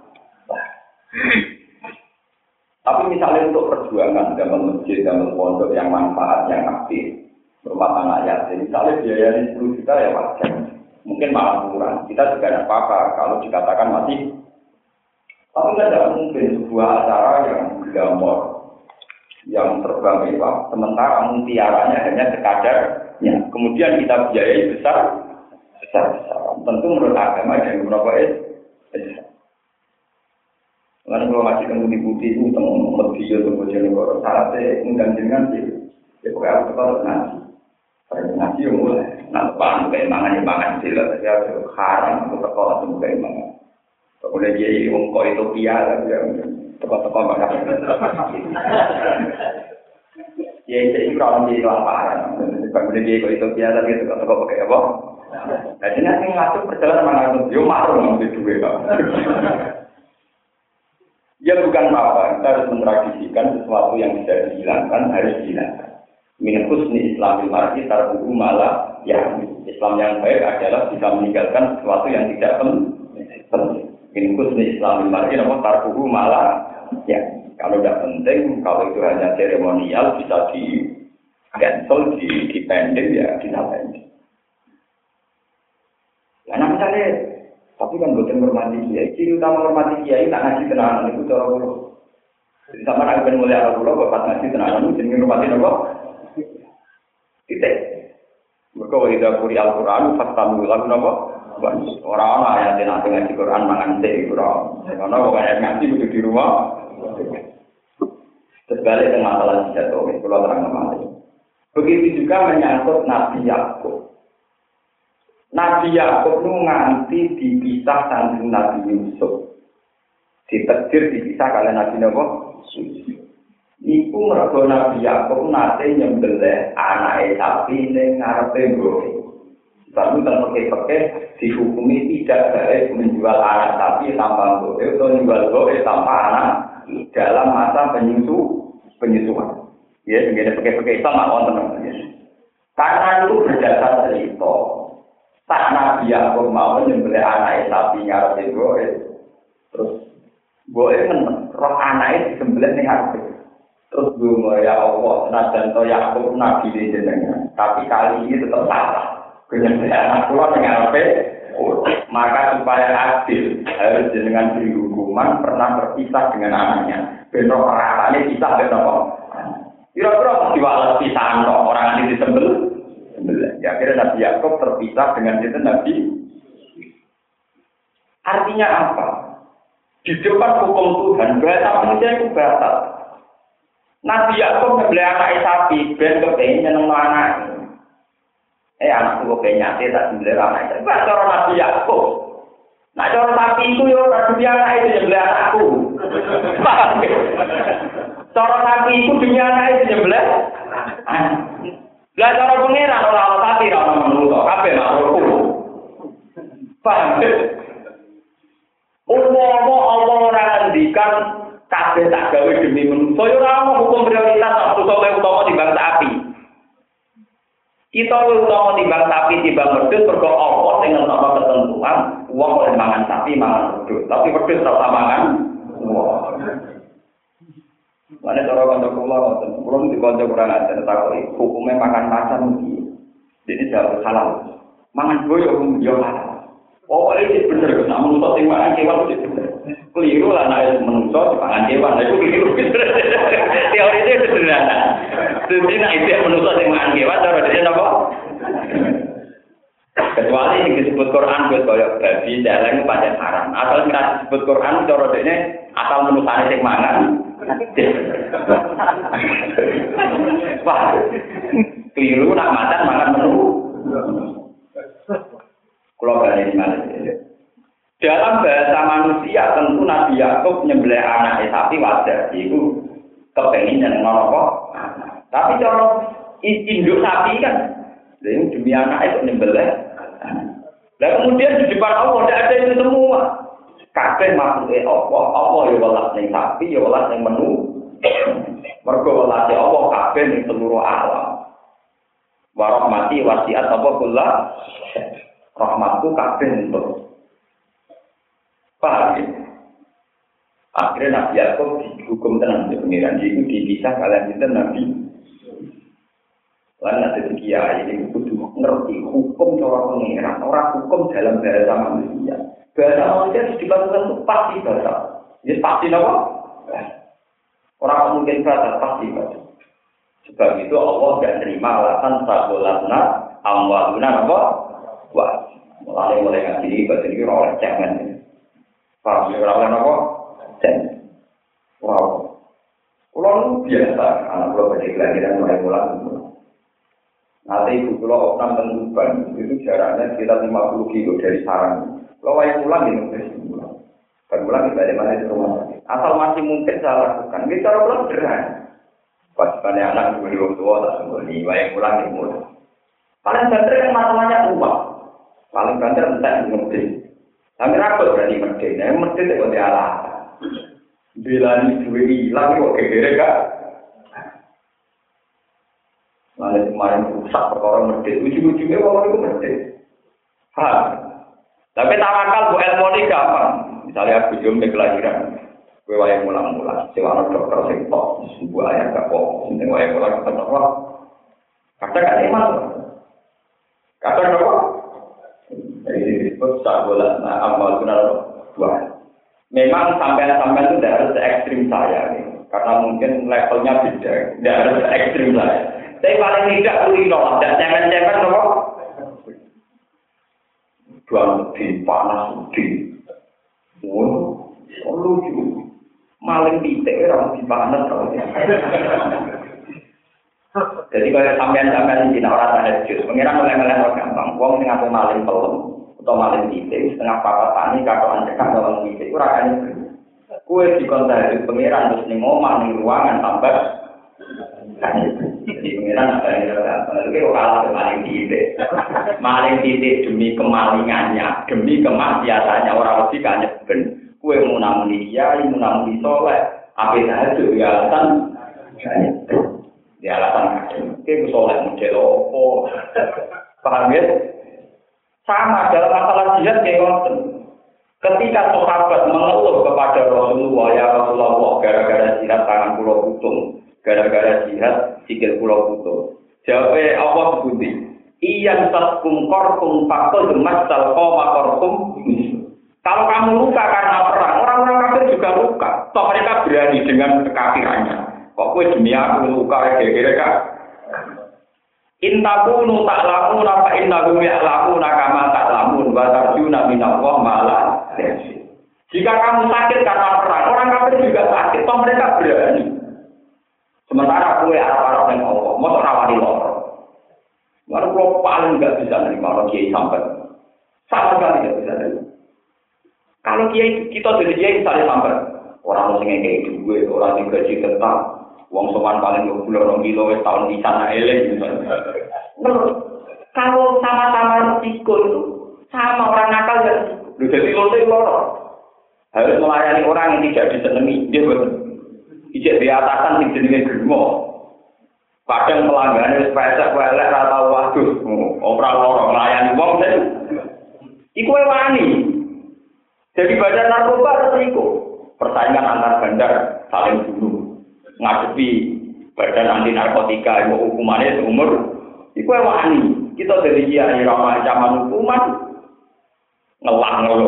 Tapi misalnya untuk perjuangan dalam masjid, dalam pondok yang manfaat, yang aktif, rumah tangga yatim, misalnya biayanya sepuluh juta ya wajar, mungkin malah kurang. Kita juga tidak apa-apa kalau dikatakan masih. Tapi tidak mungkin sebuah acara yang gambar. Yang terbang mewah, sementara mutiaranya hanya sekadarnya. Kemudian kita biayai besar, besar-besar. Tentu menurut agama yang berapa es besar. Karena kalau masih temu di putih itu, temu video temu jenegor, syaratnya undang dengan sih. Ya pokoknya aku tetap nasi. Pada nasi yang mulai, nah depan keimangan imangan sila, tapi aku haram aku tetap langsung keimangan. Kemudian dia ngomong itu piala, dia teko-teko bakal. Ya itu orang di lapangan. Kemudian dia itu biasa gitu teko-teko pakai apa? Jadi nanti ngatur perjalanan mana itu yo maklum itu juga. Ya bukan apa, kita harus mentradisikan sesuatu yang bisa dihilangkan harus dihilangkan. Min husni Islamil mar'i tarkuhu malah ya Islam yang baik adalah bisa meninggalkan sesuatu yang tidak penting. Min husni Islamil mar'i nama tarkuhu malah ya, kalau tidak penting, kalau itu hanya seremonial bisa di cancel, di dipending ya, dinamakan. Ya, nah misalnya, tapi kan bukan hormati kiai. Ciri utama hormati kiai tak ngaji tenanan itu cara dulu. Jadi sama nak ben mulai arah dulu, bapak ngaji tenanan itu jadi hormati apa? Titik. Mereka wajib kuri Al-Quran, faktamu lagu apa? Orang-orang yang nanti ngaji Quran mangan teh Quran. Karena orang ngaji itu di rumah. Terbalik dengan masalah jatuh, kalau terang nama. Begitu juga menyangkut Nabi Yakub. Nabi Yakub itu nganti dipisah dengan Nabi Yusuf. Ditakdir dipisah kalian Nabi Nabi Yusuf. Iku mergo Nabi Yakub nate nyembelih anake sapi ning ngarepe mbok. Lalu dan pakai-pakai dihukumi tidak baik menjual anak sapi tanpa mbok atau menjual mbok tanpa anak dalam masa penyusu penyusuan. Ya, dengan pakai-pakai itu nggak wonten ya. Karena itu berdasar cerita. Tak Nabi Yakub mau menyembelih anak sapi ngarepe mbok, terus mbok kan roh anake disembelih ning ngarepe. Terus bunga ya Allah, senajan to Yakub nabi di jenengan, tapi kali ini tetap salah. Penyembelihan anak pulau dengan apa? Maka supaya adil harus jenengan beri hukuman pernah berpisah dengan anaknya. Bentuk peratannya pisah bentuk. Kira-kira diwales pisah no orang ini disembel. Ya akhirnya Nabi Yakub terpisah dengan itu Nabi. Artinya apa? Di depan hukum Tuhan bahasa manusia itu batal. Nabi Yakub membeli anak sapi, ben kepengen nyeneng anak. Eh anakku kepengen nyate tak membeli anak. Itu cara Nabi Yakub. Nah cara sapi itu yo Nabi anak itu membeli anakku. Cara sapi itu dunia anak itu membeli. Lah cara pengiran ora ana sapi ora ana manungsa, kabeh makhluk. Paham? kabeh tak gawe demi manusa yo ora ono hukum prioritas manusa luwih utama timbang sapi. Kita luwih utama timbang sapi timbang wedhus mergo Allah sing ngetokno ketentuan wong oleh mangan sapi mangan wedhus, tapi wedhus ora usah mangan wong. Mana cara kanca kula ngoten, kula di kanca kurang ajar takoki hukume makan macan iki. Jadi jauh halal. Mangan boyo yo halal. Oh, ini bener, nak menusuk sing mangan kewan itu bener. Keliru lah nek menusuk mangan kewan, itu keliru. Teori itu sederhana. Jadi nek itu menusuk sing mangan kewan cara dia napa? Kecuali yang disebut Quran buat koyo babi, celeng pancen haram. Asal nek disebut Quran cara dene asal menusane sing mangan. Wah. Keliru nak macan mangan menu. Kalau balik malah dalam bahasa manusia tentu Nabi Yakub nyembelih anak sapi wajar, itu kepengen yang ngono. Tapi kalau induk sapi kan, demi anak itu nyembelih. Dan kemudian di depan Allah tidak ada itu semua. Kabeh makhluk Allah, Allah ya welas ning sapi, ya welas ning menu. Mergo welas Allah kabeh ning seluruh alam. Warahmati wasiat apa kula rahmatku kabeh untuk paham ya? Akhirnya Nabi Yakub dihukum tenang di pengiran itu dipisah kalian itu Nabi lain ada kiai ini kudu ngerti hukum cara pengiran orang hukum dalam bahasa manusia bahasa manusia itu dilakukan itu pasti bahasa ini pasti apa? Orang mungkin bahasa pasti bahasa sebab itu Allah tidak terima alasan sabolatna amwaluna apa? Wah, mulai mulai ngaji ini bahasa ini orang jangan paham ya orang apa? Jangan wow orang biasa anak pulau pada kelahiran mulai mulai nanti ibu pulau Oknam Tentuban itu jaraknya sekitar lima puluh kilo dari sarang kalau yang pulang ini kan pulang kita di mana di rumah asal masih mungkin saya lakukan kita cara pulang sederhana pastinya anak dua orang tua tak sembunyi yang pulang di muda paling banter kan masalahnya uang paling banter entah ngerti tapi rapat berani ngerti nah ngerti itu dia lah bila ini dua hilang kok kira kak lalu kemarin rusak perkara ngerti ujung-ujungnya orang itu ngerti hah tapi tawakal bu ilmu ini gampang misalnya aku jom kelahiran gue wayang mulang-mulang sewa dokter sing tok sebuah ayat gak kok sing wayang mulang ketok kok kadang kan iman kadang kok jadi disebut sabola nah amal benar dua memang sampai-sampai itu tidak harus ekstrim saya nih karena mungkin levelnya beda tidak harus ekstrim saya tapi paling tidak kulino dan cemen-cemen kok dua lebih panas lebih oh lucu maling titik orang di panas kalau jadi kalau sampean-sampean di orang tahajud pengiran oleh-oleh orang gampang wong sing ngaku maling pelem atau maling titik setengah papat tani katoan cekak dalam titik ora kan kue di tahajud pengiran terus ning omah ning ruangan tambah jadi pengiran ada yang ada itu kalah maling titik maling titik demi kemalingannya demi kemaksiatannya orang mesti kan ben kue mau namuni kiai, mau namuni soleh, apa tahajud di alasan, di alasan kue soleh model opo, paham ya? Sama dalam masalah jihad kayak ngoten. Ketika sahabat mengeluh kepada Rasulullah, ya Rasulullah, gara-gara jihad tangan pulau putung, gara-gara jihad sikil pulau putung. Jawabnya Allah sebuti, iyan taskum korkum fakol demas salko makorkum. Kalau kamu luka karena perang, orang-orang kafir juga luka. Toh mereka berani dengan kekafirannya. Kok kue demi aku luka kira-kira kak? Intakunu tak lamun apa intakum ya lamun nakama tak lamun batarjuna minallah malah. Jika kamu sakit karena perang, orang kafir juga sakit. Toh mereka berani. Sementara kue arah-arah yang Allah, mau rawani lor. Lalu kalau paling nggak bisa nerima orang kiai sampai, sama sekali nggak bisa nerima. Kalau kiai kita jadi kiai misalnya sampai orang mesti kayak gue, orang yang gaji tetap, uang sowan paling dua puluh orang kilo tahun di sana elek misalnya. Kalau sama-sama risiko itu sama orang nakal ya. Lu jadi lo itu loro. Harus melayani orang yang tidak disenangi, dia betul. ijek di atasan sing jenenge Germo. Kadang pelanggan wis pesek welek ra tau waduh, ora loro nglayani wong ten. Iku wani. Jadi badan narkoba terus iku. Persaingan antar bandar saling bunuh. Ngadepi badan anti narkotika iku hukumannya seumur. Iku wani. Kita dari kiai ramah ancaman hukuman ngelang ngono.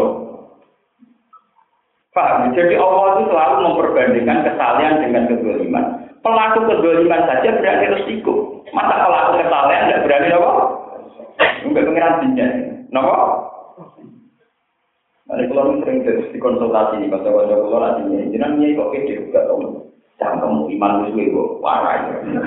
Pak, jadi Allah itu selalu memperbandingkan kesalahan dengan kezaliman. Pelaku kezaliman saja berani resiko. Masa pelaku kesalahan tidak berani apa? Enggak pengiran jinnya. Kenapa? Nah, kalau sering dikonsultasi nih, kata-kata kalau artinya, jangan nyai kok kece juga tahu. Jangan kamu iman musuh itu, warai.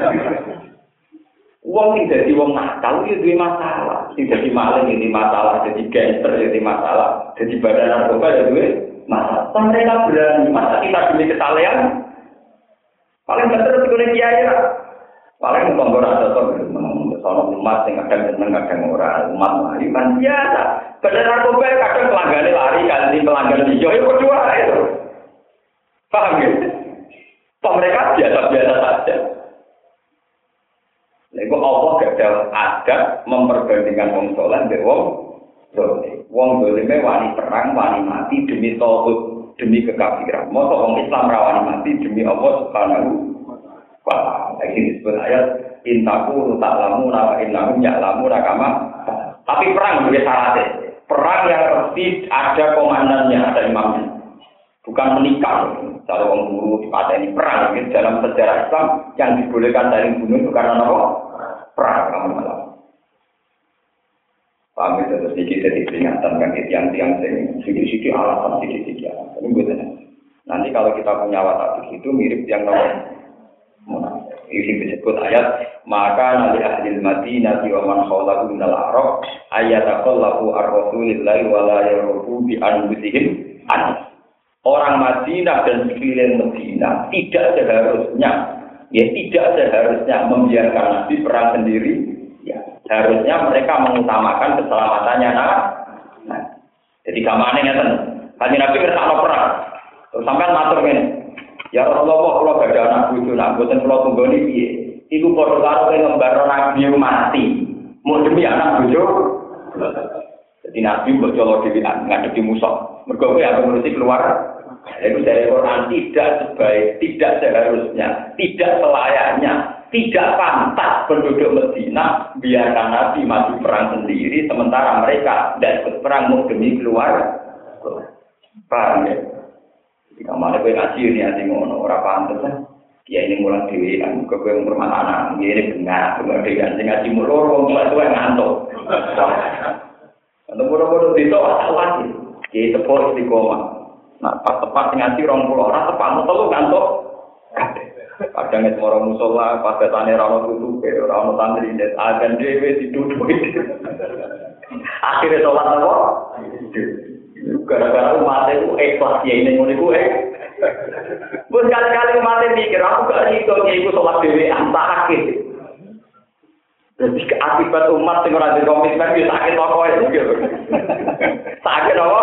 Uang yang jadi uang nakal itu jadi masalah. Yang jadi maling jadi masalah, jadi gangster jadi masalah, jadi badan narkoba jadi masalah. Mereka berani, masa kita demi kesalahan? Paling betul itu oleh kiai lah. Paling mengkontor ada tuh, soal umat yang kadang seneng kadang orang umat lari kan biasa. Badan narkoba kadang pelanggan lari ganti pelanggan hijau itu kedua itu. Paham ya? Toh mereka biasa-biasa saja. Lalu Allah gagal adab memperbandingkan wong soleh dengan wong dolim. Wong dolim wani perang, wani mati demi tauhid, demi kekafiran. Masa wong Islam rawani mati demi Allah Subhanahu wa ta'ala. Lagi disebut ayat intaku ta'lamu wa innahum ya'lamu kama. Tapi perang juga syaratnya. Perang yang pasti ada komandannya, ada imamnya. Bukan menikah. Kalau orang guru dipateni perang gitu. Dalam sejarah Islam yang dibolehkan dari bunuh itu karena apa? Perang kamu malam. Paham itu terus sedikit jadi peringatan kan tiang-tiang sing sedikit-sedikit alasan sedikit-sedikit. Nanti kalau kita punya watak itu mirip yang nomor. Ini disebut ayat maka nanti ahli Madinah wa man khawlahu minal Arab ayataqallahu ar-rasulillahi wa la yarufu bi anfusihim an. Orang Madinah dan sekeliling Madinah tidak seharusnya ya tidak seharusnya membiarkan Nabi perang sendiri ya harusnya mereka mengutamakan keselamatannya nah, nah. Jadi kamane ngeten kan Nabi kersane perang terus sampean matur ngene ya Rasulullah kula badhe anak bojo nak boten kula tunggoni piye iku padha karo ngembarno Nabi mati mau demi anak bojo jadi Nabi mbok colo dhewean ngadepi musuh mergo kowe arep ngurusi keluar itu dari Quran tidak sebaik, tidak seharusnya, tidak selayaknya, tidak pantas penduduk Madinah biarkan Nabi mati perang sendiri sementara mereka tidak ikut perang mau demi keluar. Paham ya? Jika mana kowe ngaji ini ati ngono ora pantes kan. Ya ini mulang dhewe kan kowe ngurmat anak, ini benar, benar dhewe sing ngaji mulur wong tuwa ngantuk. Ana boro-boro dito awak iki tepo istiqomah. Nah, pas tepat ngaji rong puluh orang tepat telu kantuk. Kadang itu orang musola, pas datane ra ono tutupe, ora ono santri net agan dhewe ditutupi. Akhire salat apa? Gara-gara umat itu ikhlas ya ini ngono iku eh. Bun kali-kali umat mikir aku gak iso iku salat dhewe antake. Jadi akibat umat sing ora dikomitmen wis sakit pokoke. Sakit apa?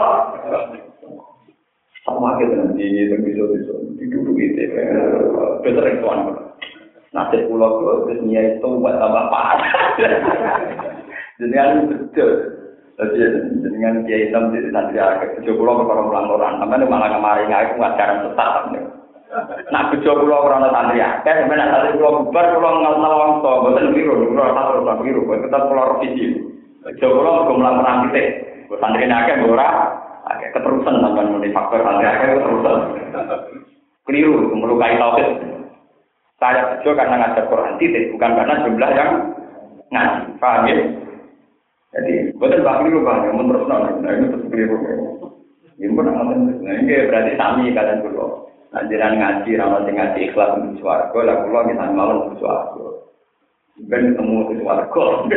Sama kita nanti terbiso-biso duduk itu, besar tuan. Nasib pulau tu terusnya itu buat tambah parah. Dengan betul, dengan dia hitam di nanti agak tujuh pulau orang pelanggaran. Tapi malah kemarin aku ngajaran sesat. Nak tujuh pulau orang santri agak, sebenarnya santri pulau bubar pulau ngal ngalong so, betul biru, pulau satu pulau biru, kita pulau revisi. Tujuh pulau melanggaran kita, santri agak berapa? Agak keterusan sampai mulai faktor agak keterusan. Keliru itu melukai tauhid. Saya bejo karena ngajar Quran titik, bukan karena jumlah yang ngaji. Paham ya? Jadi betul bah keliru bah, yang terus nah itu terus keliru. Ini pun akan nah ini berarti sami kalian dulu. Ajaran ngaji, ramal ngaji ikhlas untuk suaraku, lah pulau kita malu untuk suaraku. Ben ketemu di warga.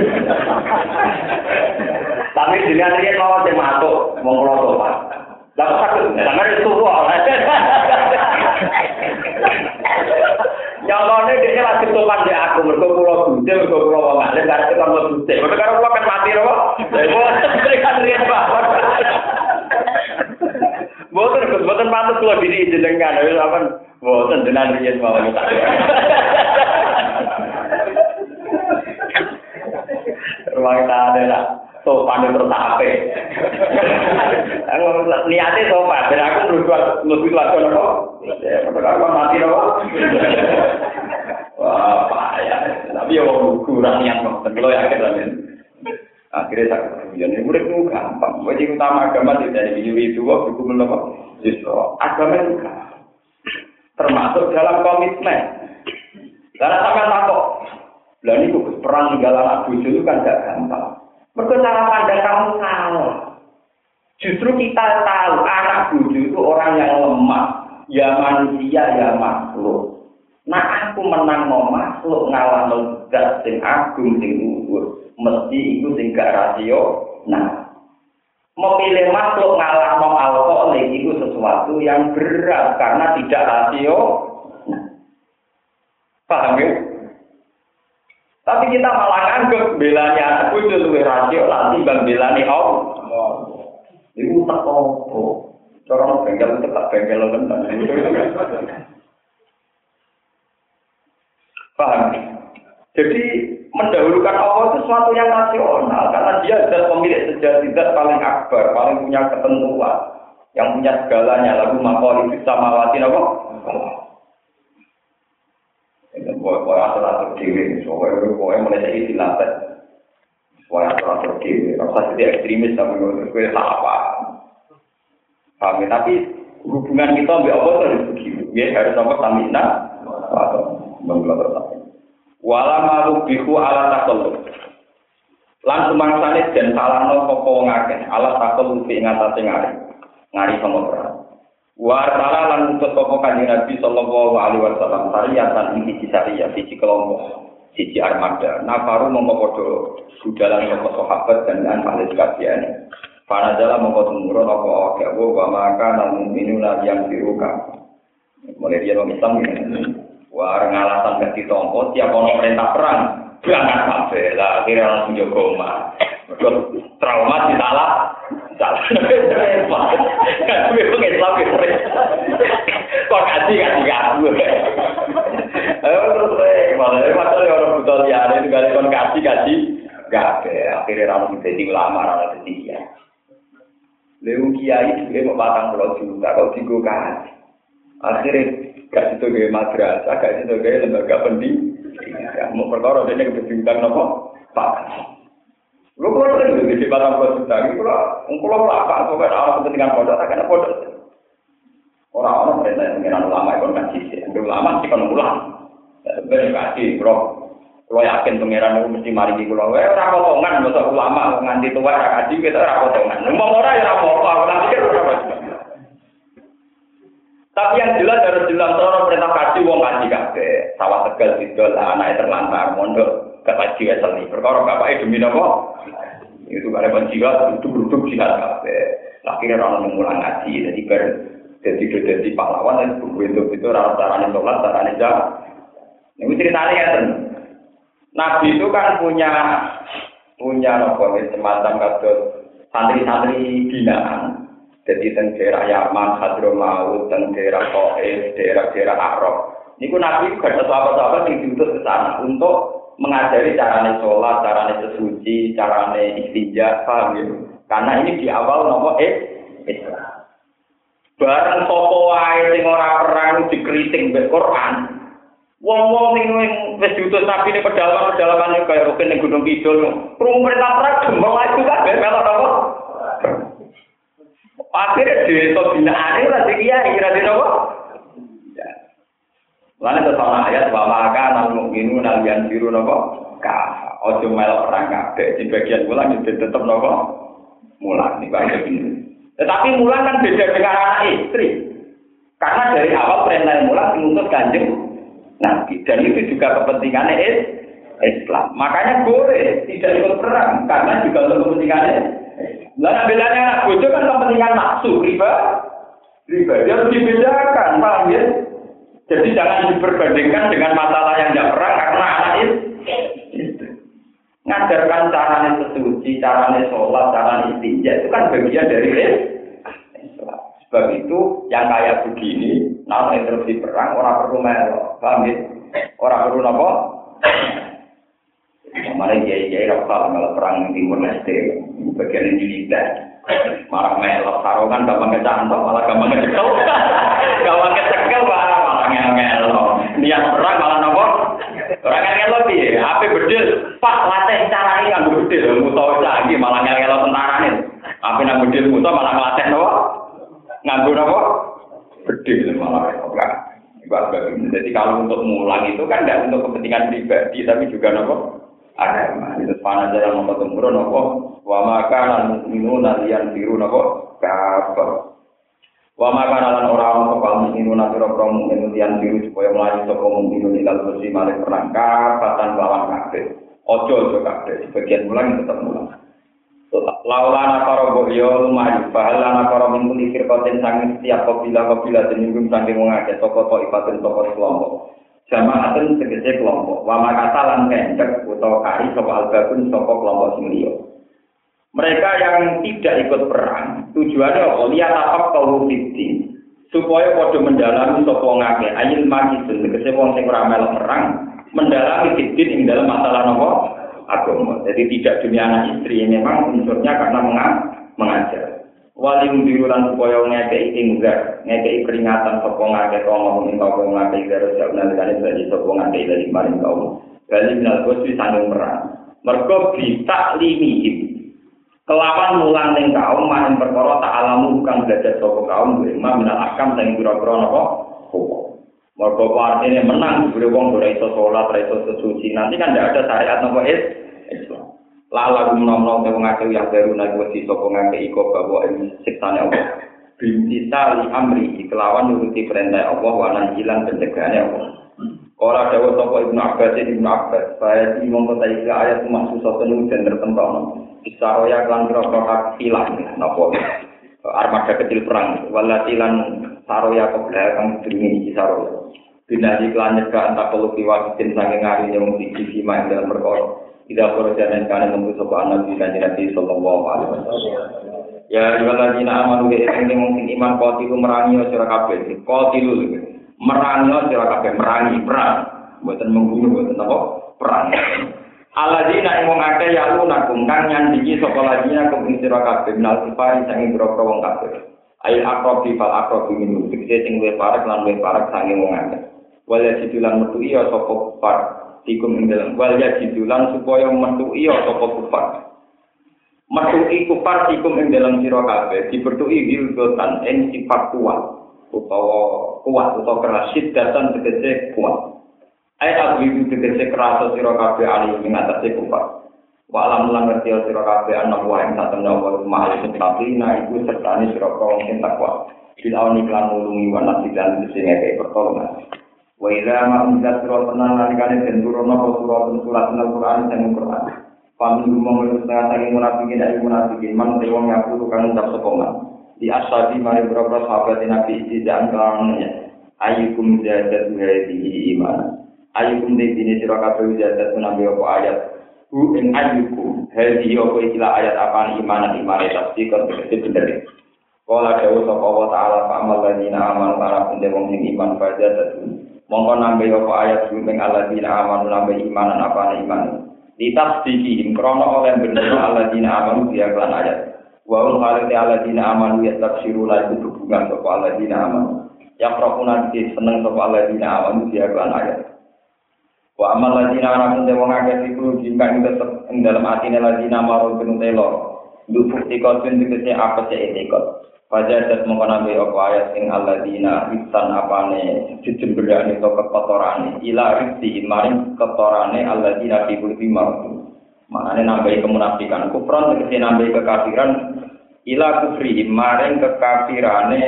Tapi dilihat dia mau dia masuk, mau ngelotok pak. Lalu sakit, sangat itu wah. Yang mana dia lagi topan di aku, mereka pulau bute, mereka pulau nggak ada, nggak ada pulau bute. Mereka kalau pulau kan mati loh. Mereka lihat pak. Boten boten patut kula diri jenengan wis apa boten jenengan riyen mawon tak. Ruang tane lah sopan terus ape. Aku niate sopan ben aku mlebu mlebu kelas apa? Ya padahal aku mati lho. Wah, payah. Tapi ya wong kurang niat kok. Kalau yakin lah men. Akhirnya tak kemudian ini murid itu gampang. Wajib utama agama tidak diwiri itu kok buku menapa. Justru agama itu gampang. Termasuk dalam komitmen. Karena sampai takut. Lah niku perang tinggal anak bojo itu kan gak gampang. Mergo cara pandang kamu salah. Justru kita tahu anak bojo itu orang yang lemah, ya manusia ya makhluk. Nah aku menang no makhluk ngalah no zat sing agung sing luhur. Mesti itu sing gak rasio. Nah, memilih makhluk ngalah no alkoholik itu sesuatu yang berat karena tidak rasio. Nah, paham ya? Tapi kita malah anggap belanya anak bojo luwih rasio lah timbang belane Allah. Iku tak opo. Cara bengkel tetap bengkel tenan. Paham? Jadi mendahulukan Allah itu sesuatu yang rasional karena dia adalah pemilik sejati, zat paling akbar, paling punya ketentuan, yang punya segalanya. Lalu makhluk itu sama watin apa? Ini boleh atur-atur diri, soalnya boleh mulai istilah teh, boleh atur-atur diri. Rasa jadi ekstremis tapi gue tak apa. Kami tapi hubungan kita ambil Allah harus begitu. Ya harus sama tamina atau menggelar tapi. Wala marubihu ala takallub. Lan sumangsane den salahno sapa wong akeh ala takallub ing atase ngari. Ngari sama perang. Wa ta'ala lan utus sapa kanjeng Nabi sallallahu alaihi wasallam sariyatan iki disariya siji kelompok, siji armada. Nafaru mongko padha budalan sapa sahabat dan lan ahli kajian. Para dalam mongko tumurun apa wae wa maka nang minuna yang diruka. Mulai dia wong Islam ini. Wah, ngalasan ganti tompo, tiap ono perintah perang, berangkat kabeh lah, akhirnya langsung jaga omah. Trauma disalah, salah. Kan gue pengen Islam itu. Kok kaji kaji aku. Ayo terus, malah masalah orang buta liar itu kali kon kaji kaji, kabeh akhirnya langsung jadi ulama, langsung jadi kiai. Lewu kiai dia mau batang pulau juta, kau tiga kaji. Akhirnya gak itu gaya madrasah, gak itu gaya lembaga pendidikan. Mau perkara dia kebetulan apa? Pak. Lu kalau ada di batang pulau juta, kalau kalau apa? Kalau orang kepentingan pondok, tak kena pondok. Orang-orang perintah yang mengenal ulama itu kan sih, ulama sih kan ulama. Sebenarnya kasih, bro. Kalau yakin pangeran itu mesti mari di pulau, eh orang potongan, masa ulama nganti tua kaji kita orang potongan. Ngomong orang ya orang potongan, nanti kita orang. Tapi yang jelas harus jelas orang perintah kaji wong kaji kabeh. Sawah Tegal Sidol anake terlantar mondok kaji weseli. Perkara bapake demi napa? Itu kare jiwa duduk-duduk jihad kabeh. Akhirnya orang mengulang ngaji jadi ber jadi jadi pahlawan itu bentuk itu ora carane salat, carane jalan. Niku ceritane ngeten. Nabi itu kan punya punya napa semacam kados santri-santri binaan. Jadi teng daerah Yaman, Hadramaut, teng daerah Taif, daerah-daerah Arab. Niku Nabi juga ada sahabat-sahabat yang diutus ke sana untuk mengajari carane sholat, carane sesuci, carane istinja, paham ya? Karena ini di awal nopo eh Islam. Bareng sapa wae sing ora perang dikritik mbek Quran. Wong-wong sing wis diutus Nabi ning pedalaman-pedalaman kaya Rukin ning Gunung Kidul. Krungu perintah perang gembong itu kabeh melok napa? Akhirnya desa binaan itu lagi kiai kira-kira apa? Ya. Lalu tersalah ayat bahwa maka namun minu nalian biru nopo kah? Ojo melok perang kabeh. Di bagian mulang itu tetap nopo mulang nih bagian ini. Tetapi mulang kan beda dengan anak istri. Karena dari awal perintah mulang diutus kanjeng Nabi dan itu juga kepentingannya Islam. Makanya boleh tidak ikut perang karena juga untuk kepentingannya. Lah belanya anak bojo kan kepentingan nafsu, riba. Riba dia harus dibedakan, paham ya? Jadi jangan diperbandingkan dengan masalah yang tidak perang karena anak itu. Ngajarkan caranya sesuci, caranya sholat, caranya istinja itu kan bagian dari Islam. Sebab itu yang kayak begini, nah interupsi perang orang perlu melok, paham ya? Orang perlu apa? Kemarin kiai-kiai rasa kalau perang Timur Leste, bagian militer. Malah melok sarungan gampang kecantol, malah gampang kecekel. Gampang kecekel malah malah ngel-ngelo. Niat perang malah nopo? Ora ngel-ngelo piye? Ape bedil, Pak latih carane kanggo bedil, muto lagi malah ngel-ngelo tentarane. Ape nang bedil muto malah nglatih nopo? Nganggo nopo? Bedil malah ora. Jadi kalau untuk mulang itu kan tidak untuk kepentingan pribadi, tapi juga nopo? Agama. Itu panah jalan nopo temurun nopo? Wa maka lan mukminu nalian biru napa kafir. Wa maka lan ora ono kaum mukminu nalira mukmin nalian biru supaya mlayu saka mukminu ilal bersih malih perang kafatan lawan kafir. Ojo ojo kafir sebagian mulang tetap mulang. Laulana para boyo lumayu bahalana para mingkuli firqatin sanging setiap kabilah-kabilah deninggung sanging wong akeh saka ibadah saka kelompok. Jamaatun tegese kelompok. Wa maka lan kencek utawa kari saka albabun saka kelompok sing liya. Mereka yang tidak ikut perang, tujuannya apa? Lihat apa kaum fitri, supaya pada mendalami sopong ngake, ayil magisun, tegese wong sing ora melok perang, mendalami fitri ing dalam masalah nopo agama. Jadi tidak dunia anak istri, memang unsurnya karena mengajar. Walim birulan supaya ngake inggar, ngake peringatan sopong ngake kaum ngomongin kaum ngake garus jauh nalikane dari sopong ngake dari maring kaum. Kali minal kosi sanggung perang, mergo bisa limit. Kelawan mulang ning kaum maring perkara tak alamu bukan belajar saka kaum lima minal akam sing pira-pira napa hukum. Mergo artine menang dibere wong ora iso salat, ora iso suci. Nanti kan ndak ada syariat napa Islam. Lala gumnom-nom wong akeh yang baru nek wis saka ngake iko bawa siksane Allah. Bintisali amri kelawan nuruti perintah Allah wa hilang pencegahannya Allah. Ora dawuh sapa Ibnu Abbas Ibnu Abbas, saya iki mongko ta iki ayat maksud satu dan tertentu. Isaroya kelan kira-kira hilang napa armada kecil perang walatilan saroya kebla kang jenenge isaroya binari kelan nyegah antar pelu kiwasin saking ngari yang siji sima ing dalam perkara tidak perlu jalan kan nunggu sapa Nabi kanjeng Nabi sallallahu alaihi wasallam ya waladina amanu wa ing mung iman qatilu merangi sira kabeh qatilu merangi sira kabeh merangi perang mboten membunuh mboten apa perang Aladina ing wong akeh ya lunakum kang nyandingi sapa ladina kum ing sira kabeh nal sifari sange boro wong kabeh. Ail akrobi fal akrobi minum dikse sing luwih parek lan luwih parek sange wong akeh. Wal ya didulan metu iya sapa kufar dikum ing dalem wal ya didulan supaya metu iya sapa kufar. Metu iku kufar dikum ing dalem sira kabeh dibertuki hilgotan ing sifat kuat utawa kuat utawa keras sidatan tegese kuat. Ayat abu tegese kerasa sira kabeh ali ing atase kufar. Wa alam lan ngerti sira kabeh ana wa ing satemene wa ma'al muttaqina iku sertane sira wong sing takwa. Bil auni lan nulungi wa nasidan sing ngeke pertolongan. Wa ila ma unzat sira tenan nalikane den turunna surat surat Al-Qur'an sing Qur'an. Pamin monggo setengah saking munafikin ayu munafikin man wong ngaku kang ucap sepoman. Di ashabi mari berapa sahabat Nabi tidak kawannya. Ayyukum zadat hadhihi iman. Ayyukum dene sira kabeh jadat nabi apa ayat hu ing ayyukum hadhihi apa ikilah ayat apa iman iman tafsir kan bener kala dawuh sapa wa taala fa amal ladina aman para pende wong sing iman fajadat mongko nambe apa ayat hu ing aladina aman nambe imanan apa iman ditafsiri krono oleh bener aladina aman dia kan ayat wa ul khalati aladina aman ya tafsiru la itu hubungan sapa aladina aman ya prokuna di seneng sapa aladina aman dia kan ayat wa amal ladina ana kunte wong akeh iku jingkang ing dalam atine ladina marul penutelo nduk ikon tegese apa sing ikon pajadat mongko nambe apa ayat ing alladina isan apane jejemberane to kekotorane ila rizki maring kekotorane alladina fi kulli marud maknane nambe kemunafikan kufran tegese nambe kekafiran ila kufri maring kekafirane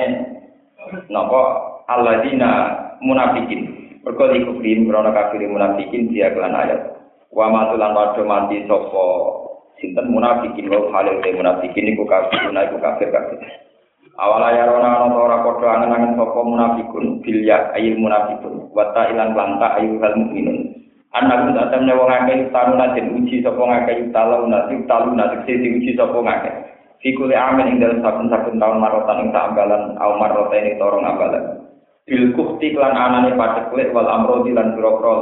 napa alladina munafikin perkara iku krim krana kafir munafikin dia kelan ayat wa matulan padha mati sapa sinten munafikin wa halil munafikin iku kafir iku kafir kafir awala ya rona ana ora padha angen-angen sapa munafikun bil ya ayil munafikun wa ta ilan lanta ayu hal mukminun anak tak temne wong akeh taruna den uji sapa ngakeh taluna sing taluna sing diuji sapa ngakeh Fikul amin ing dalam saben-saben tahun marotan ing tak ambalan au marotan ing torong ambalan. Bil kufti lan anane paceklik wal amrodi lan biro-biro.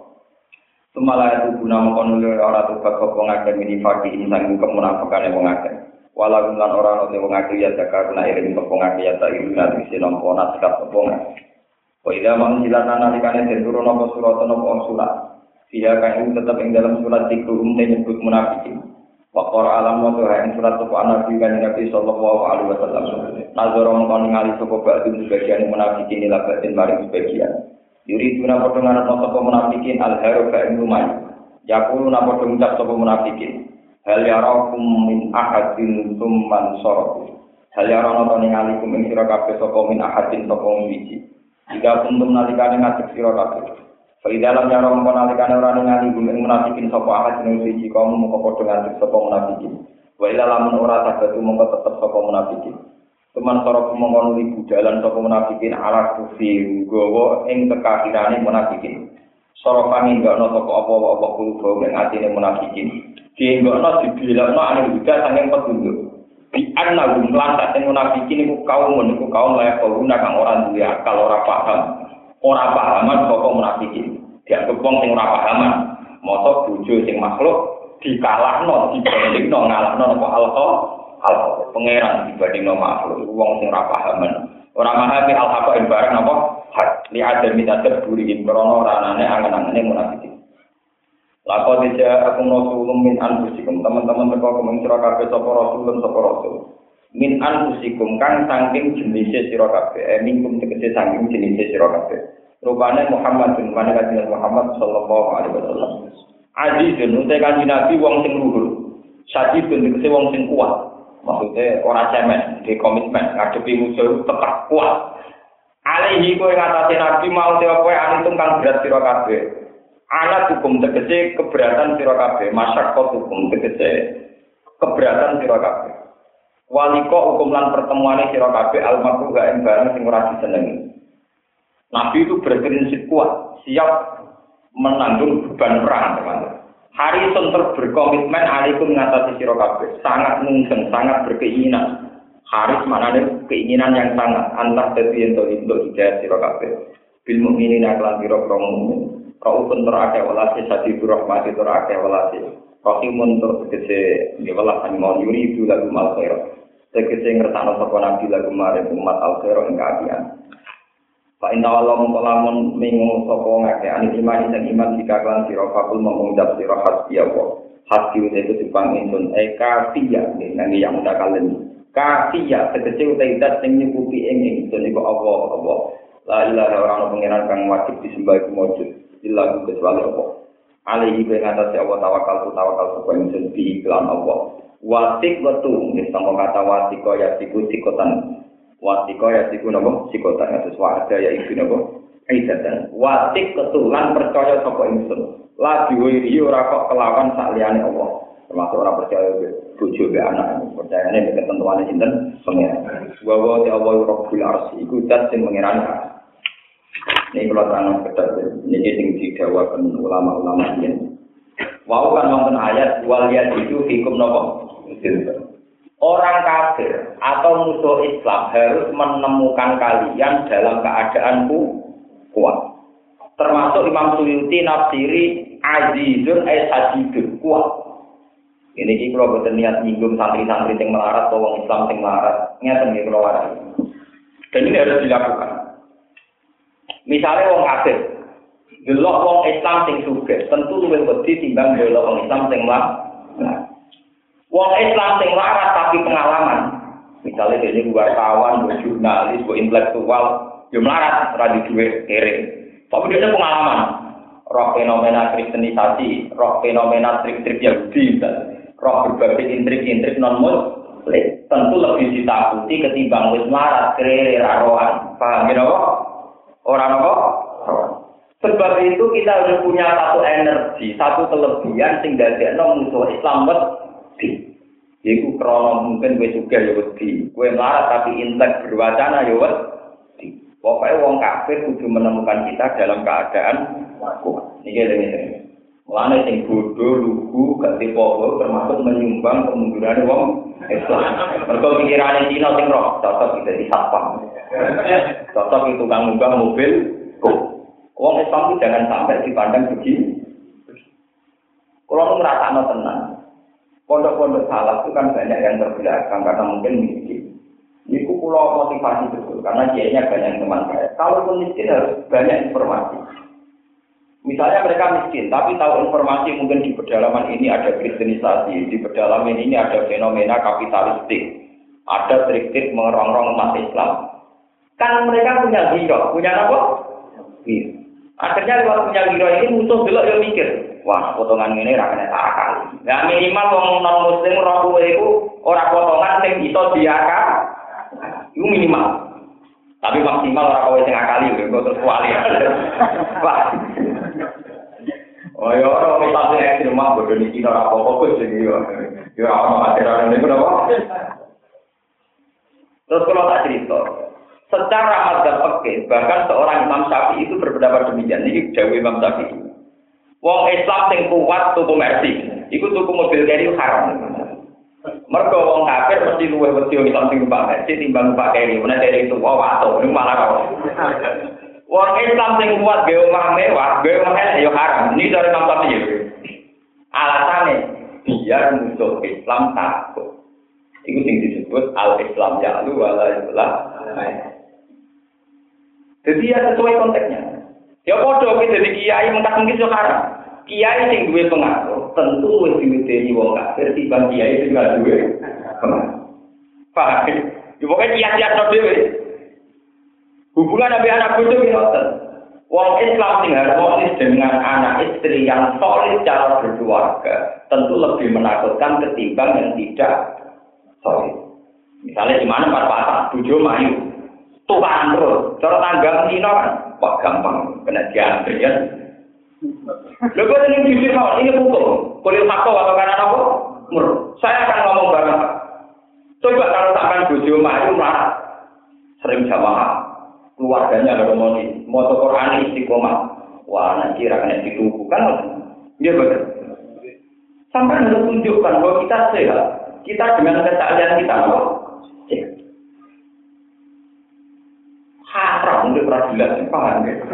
Sumala itu guna mengkonuli ora tubak wong akeh minifaki insang kemunafakane wong akeh. Walau lan ora ono wong akeh ya zakarna iring wong akeh ya tak iring ati sinom ona sikap wong akeh. Wa ida mang silatan nalikane den turun apa surat apa surat. Dia kan tetap ing dalam surat dikrum menyebut munafikin. Wa qara alam wa ing surat apa nabi kan Nabi sallallahu alaihi wasallam. Nazar mongkon ngali sapa ba'du sebagian munafikin ila batin maring sebagian. Yuri tuna padha ngarep sapa munafikin al-haru ka ilmai. Yaqulu napa ngucap sapa munafikin. Hal yarakum min ahadin tsumman sarafu. Hal yarana to ningali kum ing sira kabeh sapa min ahadin sapa wiji. Jika kuntum nalikane ngadeg sira kabeh. Fa idalam yaram nalikane ora ningali kum ing munafikin sapa ahadin wiji kaum mung padha ngadeg sapa munafikin. Wa ila lamun ora saged mung tetep sapa munafikin. Teman sarafu mongkon li budalan sapa munafikin ala kufi gowo ing kekafirane munafikin. Sarafane enggak ono sapa apa-apa kulo ing atine munafikin. Dienggokno dibilakno ane juga saking petunjuk. Di anna hum lan sak munafikin iku kaum niku kaum layak guna kang ora duwe akal ora paham. Ora pahaman saka munafikin. Dianggep wong sing ora pahaman. Mosok bojo sing makhluk dikalahno dibandingno ngalahno apa alqa alqa pangeran dibandingno makhluk wong sing ora pahaman. Ora memahami al-haqa ing barang apa hak li adami tadabburi ing krana ranane angen-angene munafikin. Lako tidak aku rasulun min anfusikum teman-teman teko kumeng sira kabeh sapa rasulun sapa rasul min anfusikum kang saking jenise sira kabeh eh mingkum tegese saking jenise sira kabeh rupane Muhammadun maneh kanjeng Muhammad sallallahu alaihi wasallam azizun utek kanjeng Nabi wong sing luhur sadidun tegese wong sing kuat maksudnya ora cemen di komitmen ngadepi musuh tetap kuat alaihi kowe ngatasi Nabi mau te kowe antum kang berat sira kabeh. Anak hukum tegese keberatan sira kabeh, masyarakat hukum tegese keberatan sira kabeh. Waliko hukum lan pertemuane sira kabeh almarhum gak ing barang sing ora disenengi. Nabi itu berprinsip kuat, siap menanggung beban perang, teman-teman. Harrison berkomitmen alaikum ngatasi sira kabeh, sangat mungseng, sangat berkeinginan. Haris maknane keinginan yang sangat antar dadi ento untuk hidayah sira kabeh. Bil mukminina lan pira-pira mukmin. Raufun terake walasi sadi rahmati terake walasi rahimun terkese di welas mau yuri itu lagu mal khair tegese ngertano sapa nabi lagu mare umat al khair ing kaapian fa inna wallahu mulamun mingu sapa ngake ani iman ing iman dikaklan sira fakul mengucap sira hasbi apa hasbi itu dipang insun e kafiya nang yang udah kalen kafiya tegese utai dat sing nyukupi ing insun iku apa apa la ilaha illa pangeran kang wajib disembah iku mujud illa kecuali Allah. Alaihi bi ngatasi Allah tawakal tu tawakal supaya ingsun bi iklan Allah. Wasik wetu nek sama kata wasiko ya siku sikotan. Wasiko ya siku napa sikotan atus wa'ada ya iku napa aidatan. Wasik ketulan percaya sapa ingsun. La diwiri ora kok kelawan sak liyane Allah. Termasuk ora percaya bojo be anak. Percayane nek ketentuane sinten pengen. Wa wa ta Allah Rabbul Arsy iku zat sing mengirani. Ini kalau tanah ketat, ini sing didawakan ulama-ulama ini. Wau kan wonten ayat waliyat itu hukum nopo. Orang kafir atau musuh Islam harus menemukan kalian dalam keadaan kuat. Termasuk Imam Suyuti nafsiri azizun ay sadidun kuat. Ini iki kalau boten niat nyinggung santri-santri sing melarat atau wong Islam sing melarat, ngeten iki kalau wae. Dan ini harus dilakukan. Misalnya wong kafir, delok wong Islam sing sugih, tentu luwih wedi timbang delok wong Islam sing melarat. Wong Islam sing melarat tapi pengalaman. Misalnya dene wartawan, jurnalis, intelektual, yo melarat ora duwe kere. Tapi dia pengalaman. Roh fenomena kristenisasi, roh fenomena trik-trik Yahudi, roh berbagai intrik-intrik non-muslim, tentu lebih ditakuti ketimbang wis melarat kere raroan. Paham ya kok? Orang apa? Sebab itu kita harus punya satu energi, satu kelebihan sing dadekno musuh Islam wedi. Iku krana mungkin wis sugih ya wedi. Kowe melarat tapi intek berwacana ya wedi. Pokoke wong kafir kudu menemukan kita dalam keadaan kuat. Niki ngene. Mulane sing bodoh, lugu, gak tipe termasuk menyumbang kemunduran wong Islam. Mergo pikirane Cina sing roh, cocok dadi satpam. Cocok itu tukang munggah mobil. Wong Islam itu jangan sampai dipandang begini. Kalau ngerasakno tenang, pondok-pondok salaf itu kan banyak yang terbelakang karena mungkin miskin. Ini pulau motivasi betul karena kiainya banyak teman saya. Kalaupun miskin harus banyak informasi. Misalnya mereka miskin, tapi tahu informasi mungkin di pedalaman ini ada kristenisasi, di pedalaman ini ada fenomena kapitalistik, ada trik-trik mengerongrong umat Islam. Kan mereka punya hero, punya apa? Hero. Akhirnya lewat punya hero ini musuh dulu yang mikir, wah potongan ini rakyatnya tak akal. Nah minimal orang non muslim orang tua itu orang potongan yang bisa diakal, itu minimal. Tapi maksimal orang tua yang akali, itu terus kuali. Wah. Oh ya orang kita sih ekstrim mah bodoh di Cina apa apa sih gitu. Ya orang material ini berapa? Terus kalau tak cerita, secara madzhab fikih bahkan seorang Imam Syafi'i itu berpendapat demikian. Ini jauh Imam Syafi'i. Wong Islam sing kuat tuku mercy, iku tuku mobil keri haram. Mergo wong kafir mesti luwih wedi Islam sing numpak mercy timbang numpak keri. Menawa keri itu wae wato, malah kok. Wong Islam sing kuat ge omah mewah, ge omah elek ya haram. Ini dari Imam Syafi'i. Alasane biar musuh Islam takut. Iku sing disebut al-Islam ya'lu wa la yulah. Jadi ya sesuai konteksnya. Ya padha iki dadi kiai mentak mungkin yo haram. Kiai sing duwe pengaruh tentu wis diwedeni wong kafir timbang kiai sing gak duwe pengaruh. Paham? Yo pokoke kiai-kiai dhewe. Hubungan Nabi anak bodoh ngoten. Wong Islam sing harmonis dengan anak istri yang solid cara berkeluarga tentu lebih menakutkan ketimbang yang tidak solid. Misalnya di mana pas-pasan bojo mayu, tuhan terus, cara tanggang Cina kan, wah gampang kena diantri ya. Lha kok ini jujur kok ini hukum. Kuliah fakta atau karena apa? Mur. Saya akan ngomong bareng. Coba kalau sampean bojo mayu malah sering jamaah keluarganya ada harmonis, mau Quran istiqomah, wah nanti rakyat ditubuh kan? Dia betul. Sampai harus tunjukkan bahwa kita sehat, kita dengan kesalahan kita loh. Haram untuk peradilan, paham ya?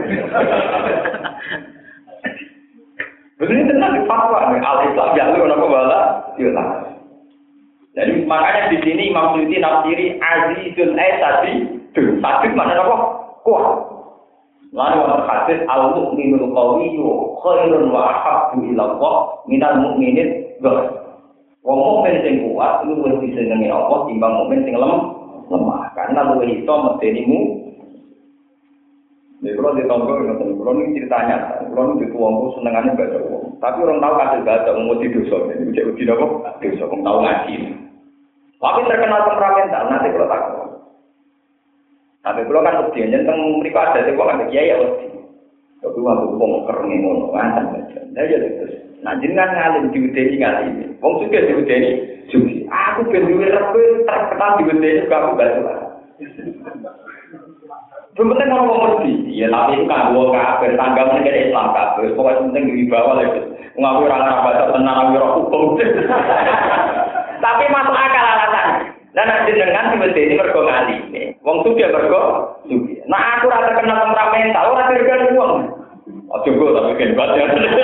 Begini tenang di fatwa, al-Islam jalur apa bala, iya. Jadi makanya di sini Imam Suyuti nafsiri Azizul Aisadi, tuh sakit mana apa? Kuat. Lalu yang terhadis al-mu'minul qawiyyu khairun wa ahabbu ila Allah minal mu'minin ghair. Wong mukmin sing kuat itu wis disenengi Allah timbang mukmin sing lemah. Karena luwih iso medenimu. Nek kalau ditonggo ngoten, kalau ini ceritanya, kalau ini dituangku senengane baca wong. Tapi orang tahu kasil baca umur di dosa, ini cek uji apa? Dosa, orang tahu ngaji. Tapi terkenal temperamental, nanti kalau takut. Tapi kalau kan uji, tentang mereka ada di sekolah, kiai ya uji. Tapi waktu wong kereng ngono, ancam baca. Nah ya terus, nah jenengan ngalim diudeni ngalim. Wong suka diudeni, sugi. Aku ben duwe rebe terkenal diudeni kamu baca. Penting orang mau mesti, ya tapi itu kan dua kafir, tanggal negara Islam kafir, pokoknya penting di bawah lagi. Mengaku orang baca tenang orang hukum. Tapi masuk akal alasan. Dan nanti dengan tiba-tiba ini bergo ngali. Wong suka bergo, suka. Nah aku rasa kena temperamental, orang terkena uang. Oh cukup, tapi kan baca.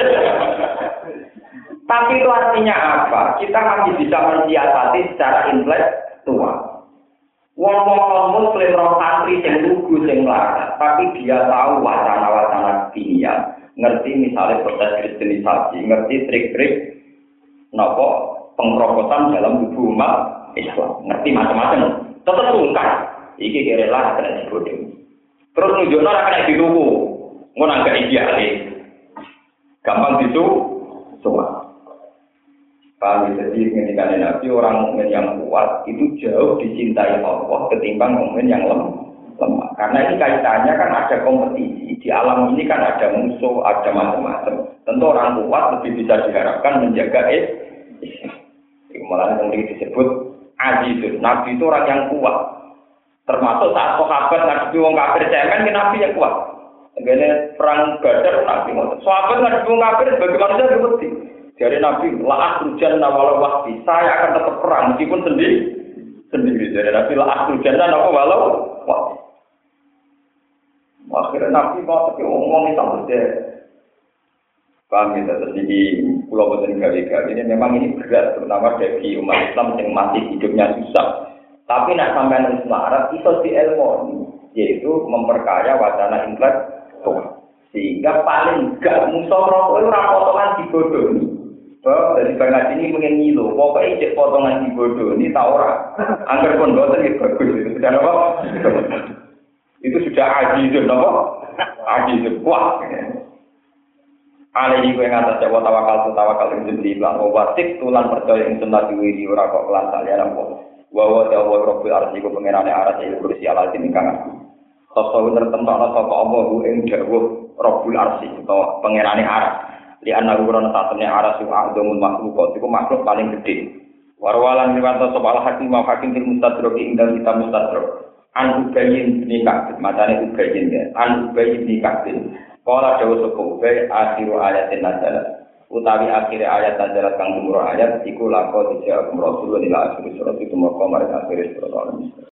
Tapi itu artinya apa? Kita masih bisa mensiasati secara intelektual. Wong-wong muslim roh santri sing lugu sing melarat, tapi dia tahu wacana-wacana dunia, ngerti misalnya proses kristenisasi, ngerti trik-trik nopo pengkerobosan dalam tubuh umat Islam, ngerti macam-macam. Tetap sungkan, iki kira lah kena dibodoh. Terus nunjukno ora kena dituku, ngono agak idealis. Gampang itu, semua. Kami jadi ketika Nabi orang mukmin yang kuat itu jauh dicintai Allah ketimbang mukmin yang lemah. Karena ini kaitannya kan ada kompetisi di alam ini kan ada musuh, ada macam-macam. Tentu orang kuat lebih bisa diharapkan menjaga Islam. Malah yang disebut Azizul. Nabi itu orang yang kuat. Termasuk saat sahabat Nabi wong kafir cemen, Nabi yang kuat. Ngene perang Badar Nabi ngoten. Sahabat nggak wong kafir sebagai manusia seperti. Jadi Nabi la akhrujan walau wahdi. Saya akan tetap perang meskipun sendiri. Sendiri. Jadi Nabi la akhrujan apa walau wahdi. Akhirnya Nabi mau tapi ngomong itu saja. Paham ya, terus ini pulau boten gawe-gawe ini memang ini berat, terutama bagi umat Islam yang masih hidupnya susah. Tapi nak sampai nang selarat iso dielmoni, yaitu memperkaya wacana intelektual. Sehingga paling gak musuh rokok itu potongan dibodohi. Bahwa dari banget ini pengen ngilu, pokoknya cek potongan dibodohi, tak ora. Angger pun boten ya bagus itu. Sudah apa? Itu sudah ajizun apa? Ajizun kuat. Alih kowe ngatas jawa tawakal tawakal ing jeneng lan watik tulan percaya ing sunah diwiri ora kok kelan saliyane apa. Wa wa ta'ala rabbil arsi ku pengenane aras ing kursi ala tinikang. Sosok tertentokno sapa Allah ku ing dawuh Rabbul Arsi utawa pengenane aras. Li ana urana satene aras ku adzamul makhluk iku makhluk paling gedhe. Warwalan riwanto sapa al hakim wa hakim fil mustadrak ing dalem kitab mustadrak. An ubayin nikah matane ubayin ya. An ubayin nikah. Kala dawa sapa ubai akhiru ayatin nazalat. Utawi akhir ayat nazalat kang umur ayat iku lako dijawab Rasulullah ila akhir surat itu maqam akhir surat.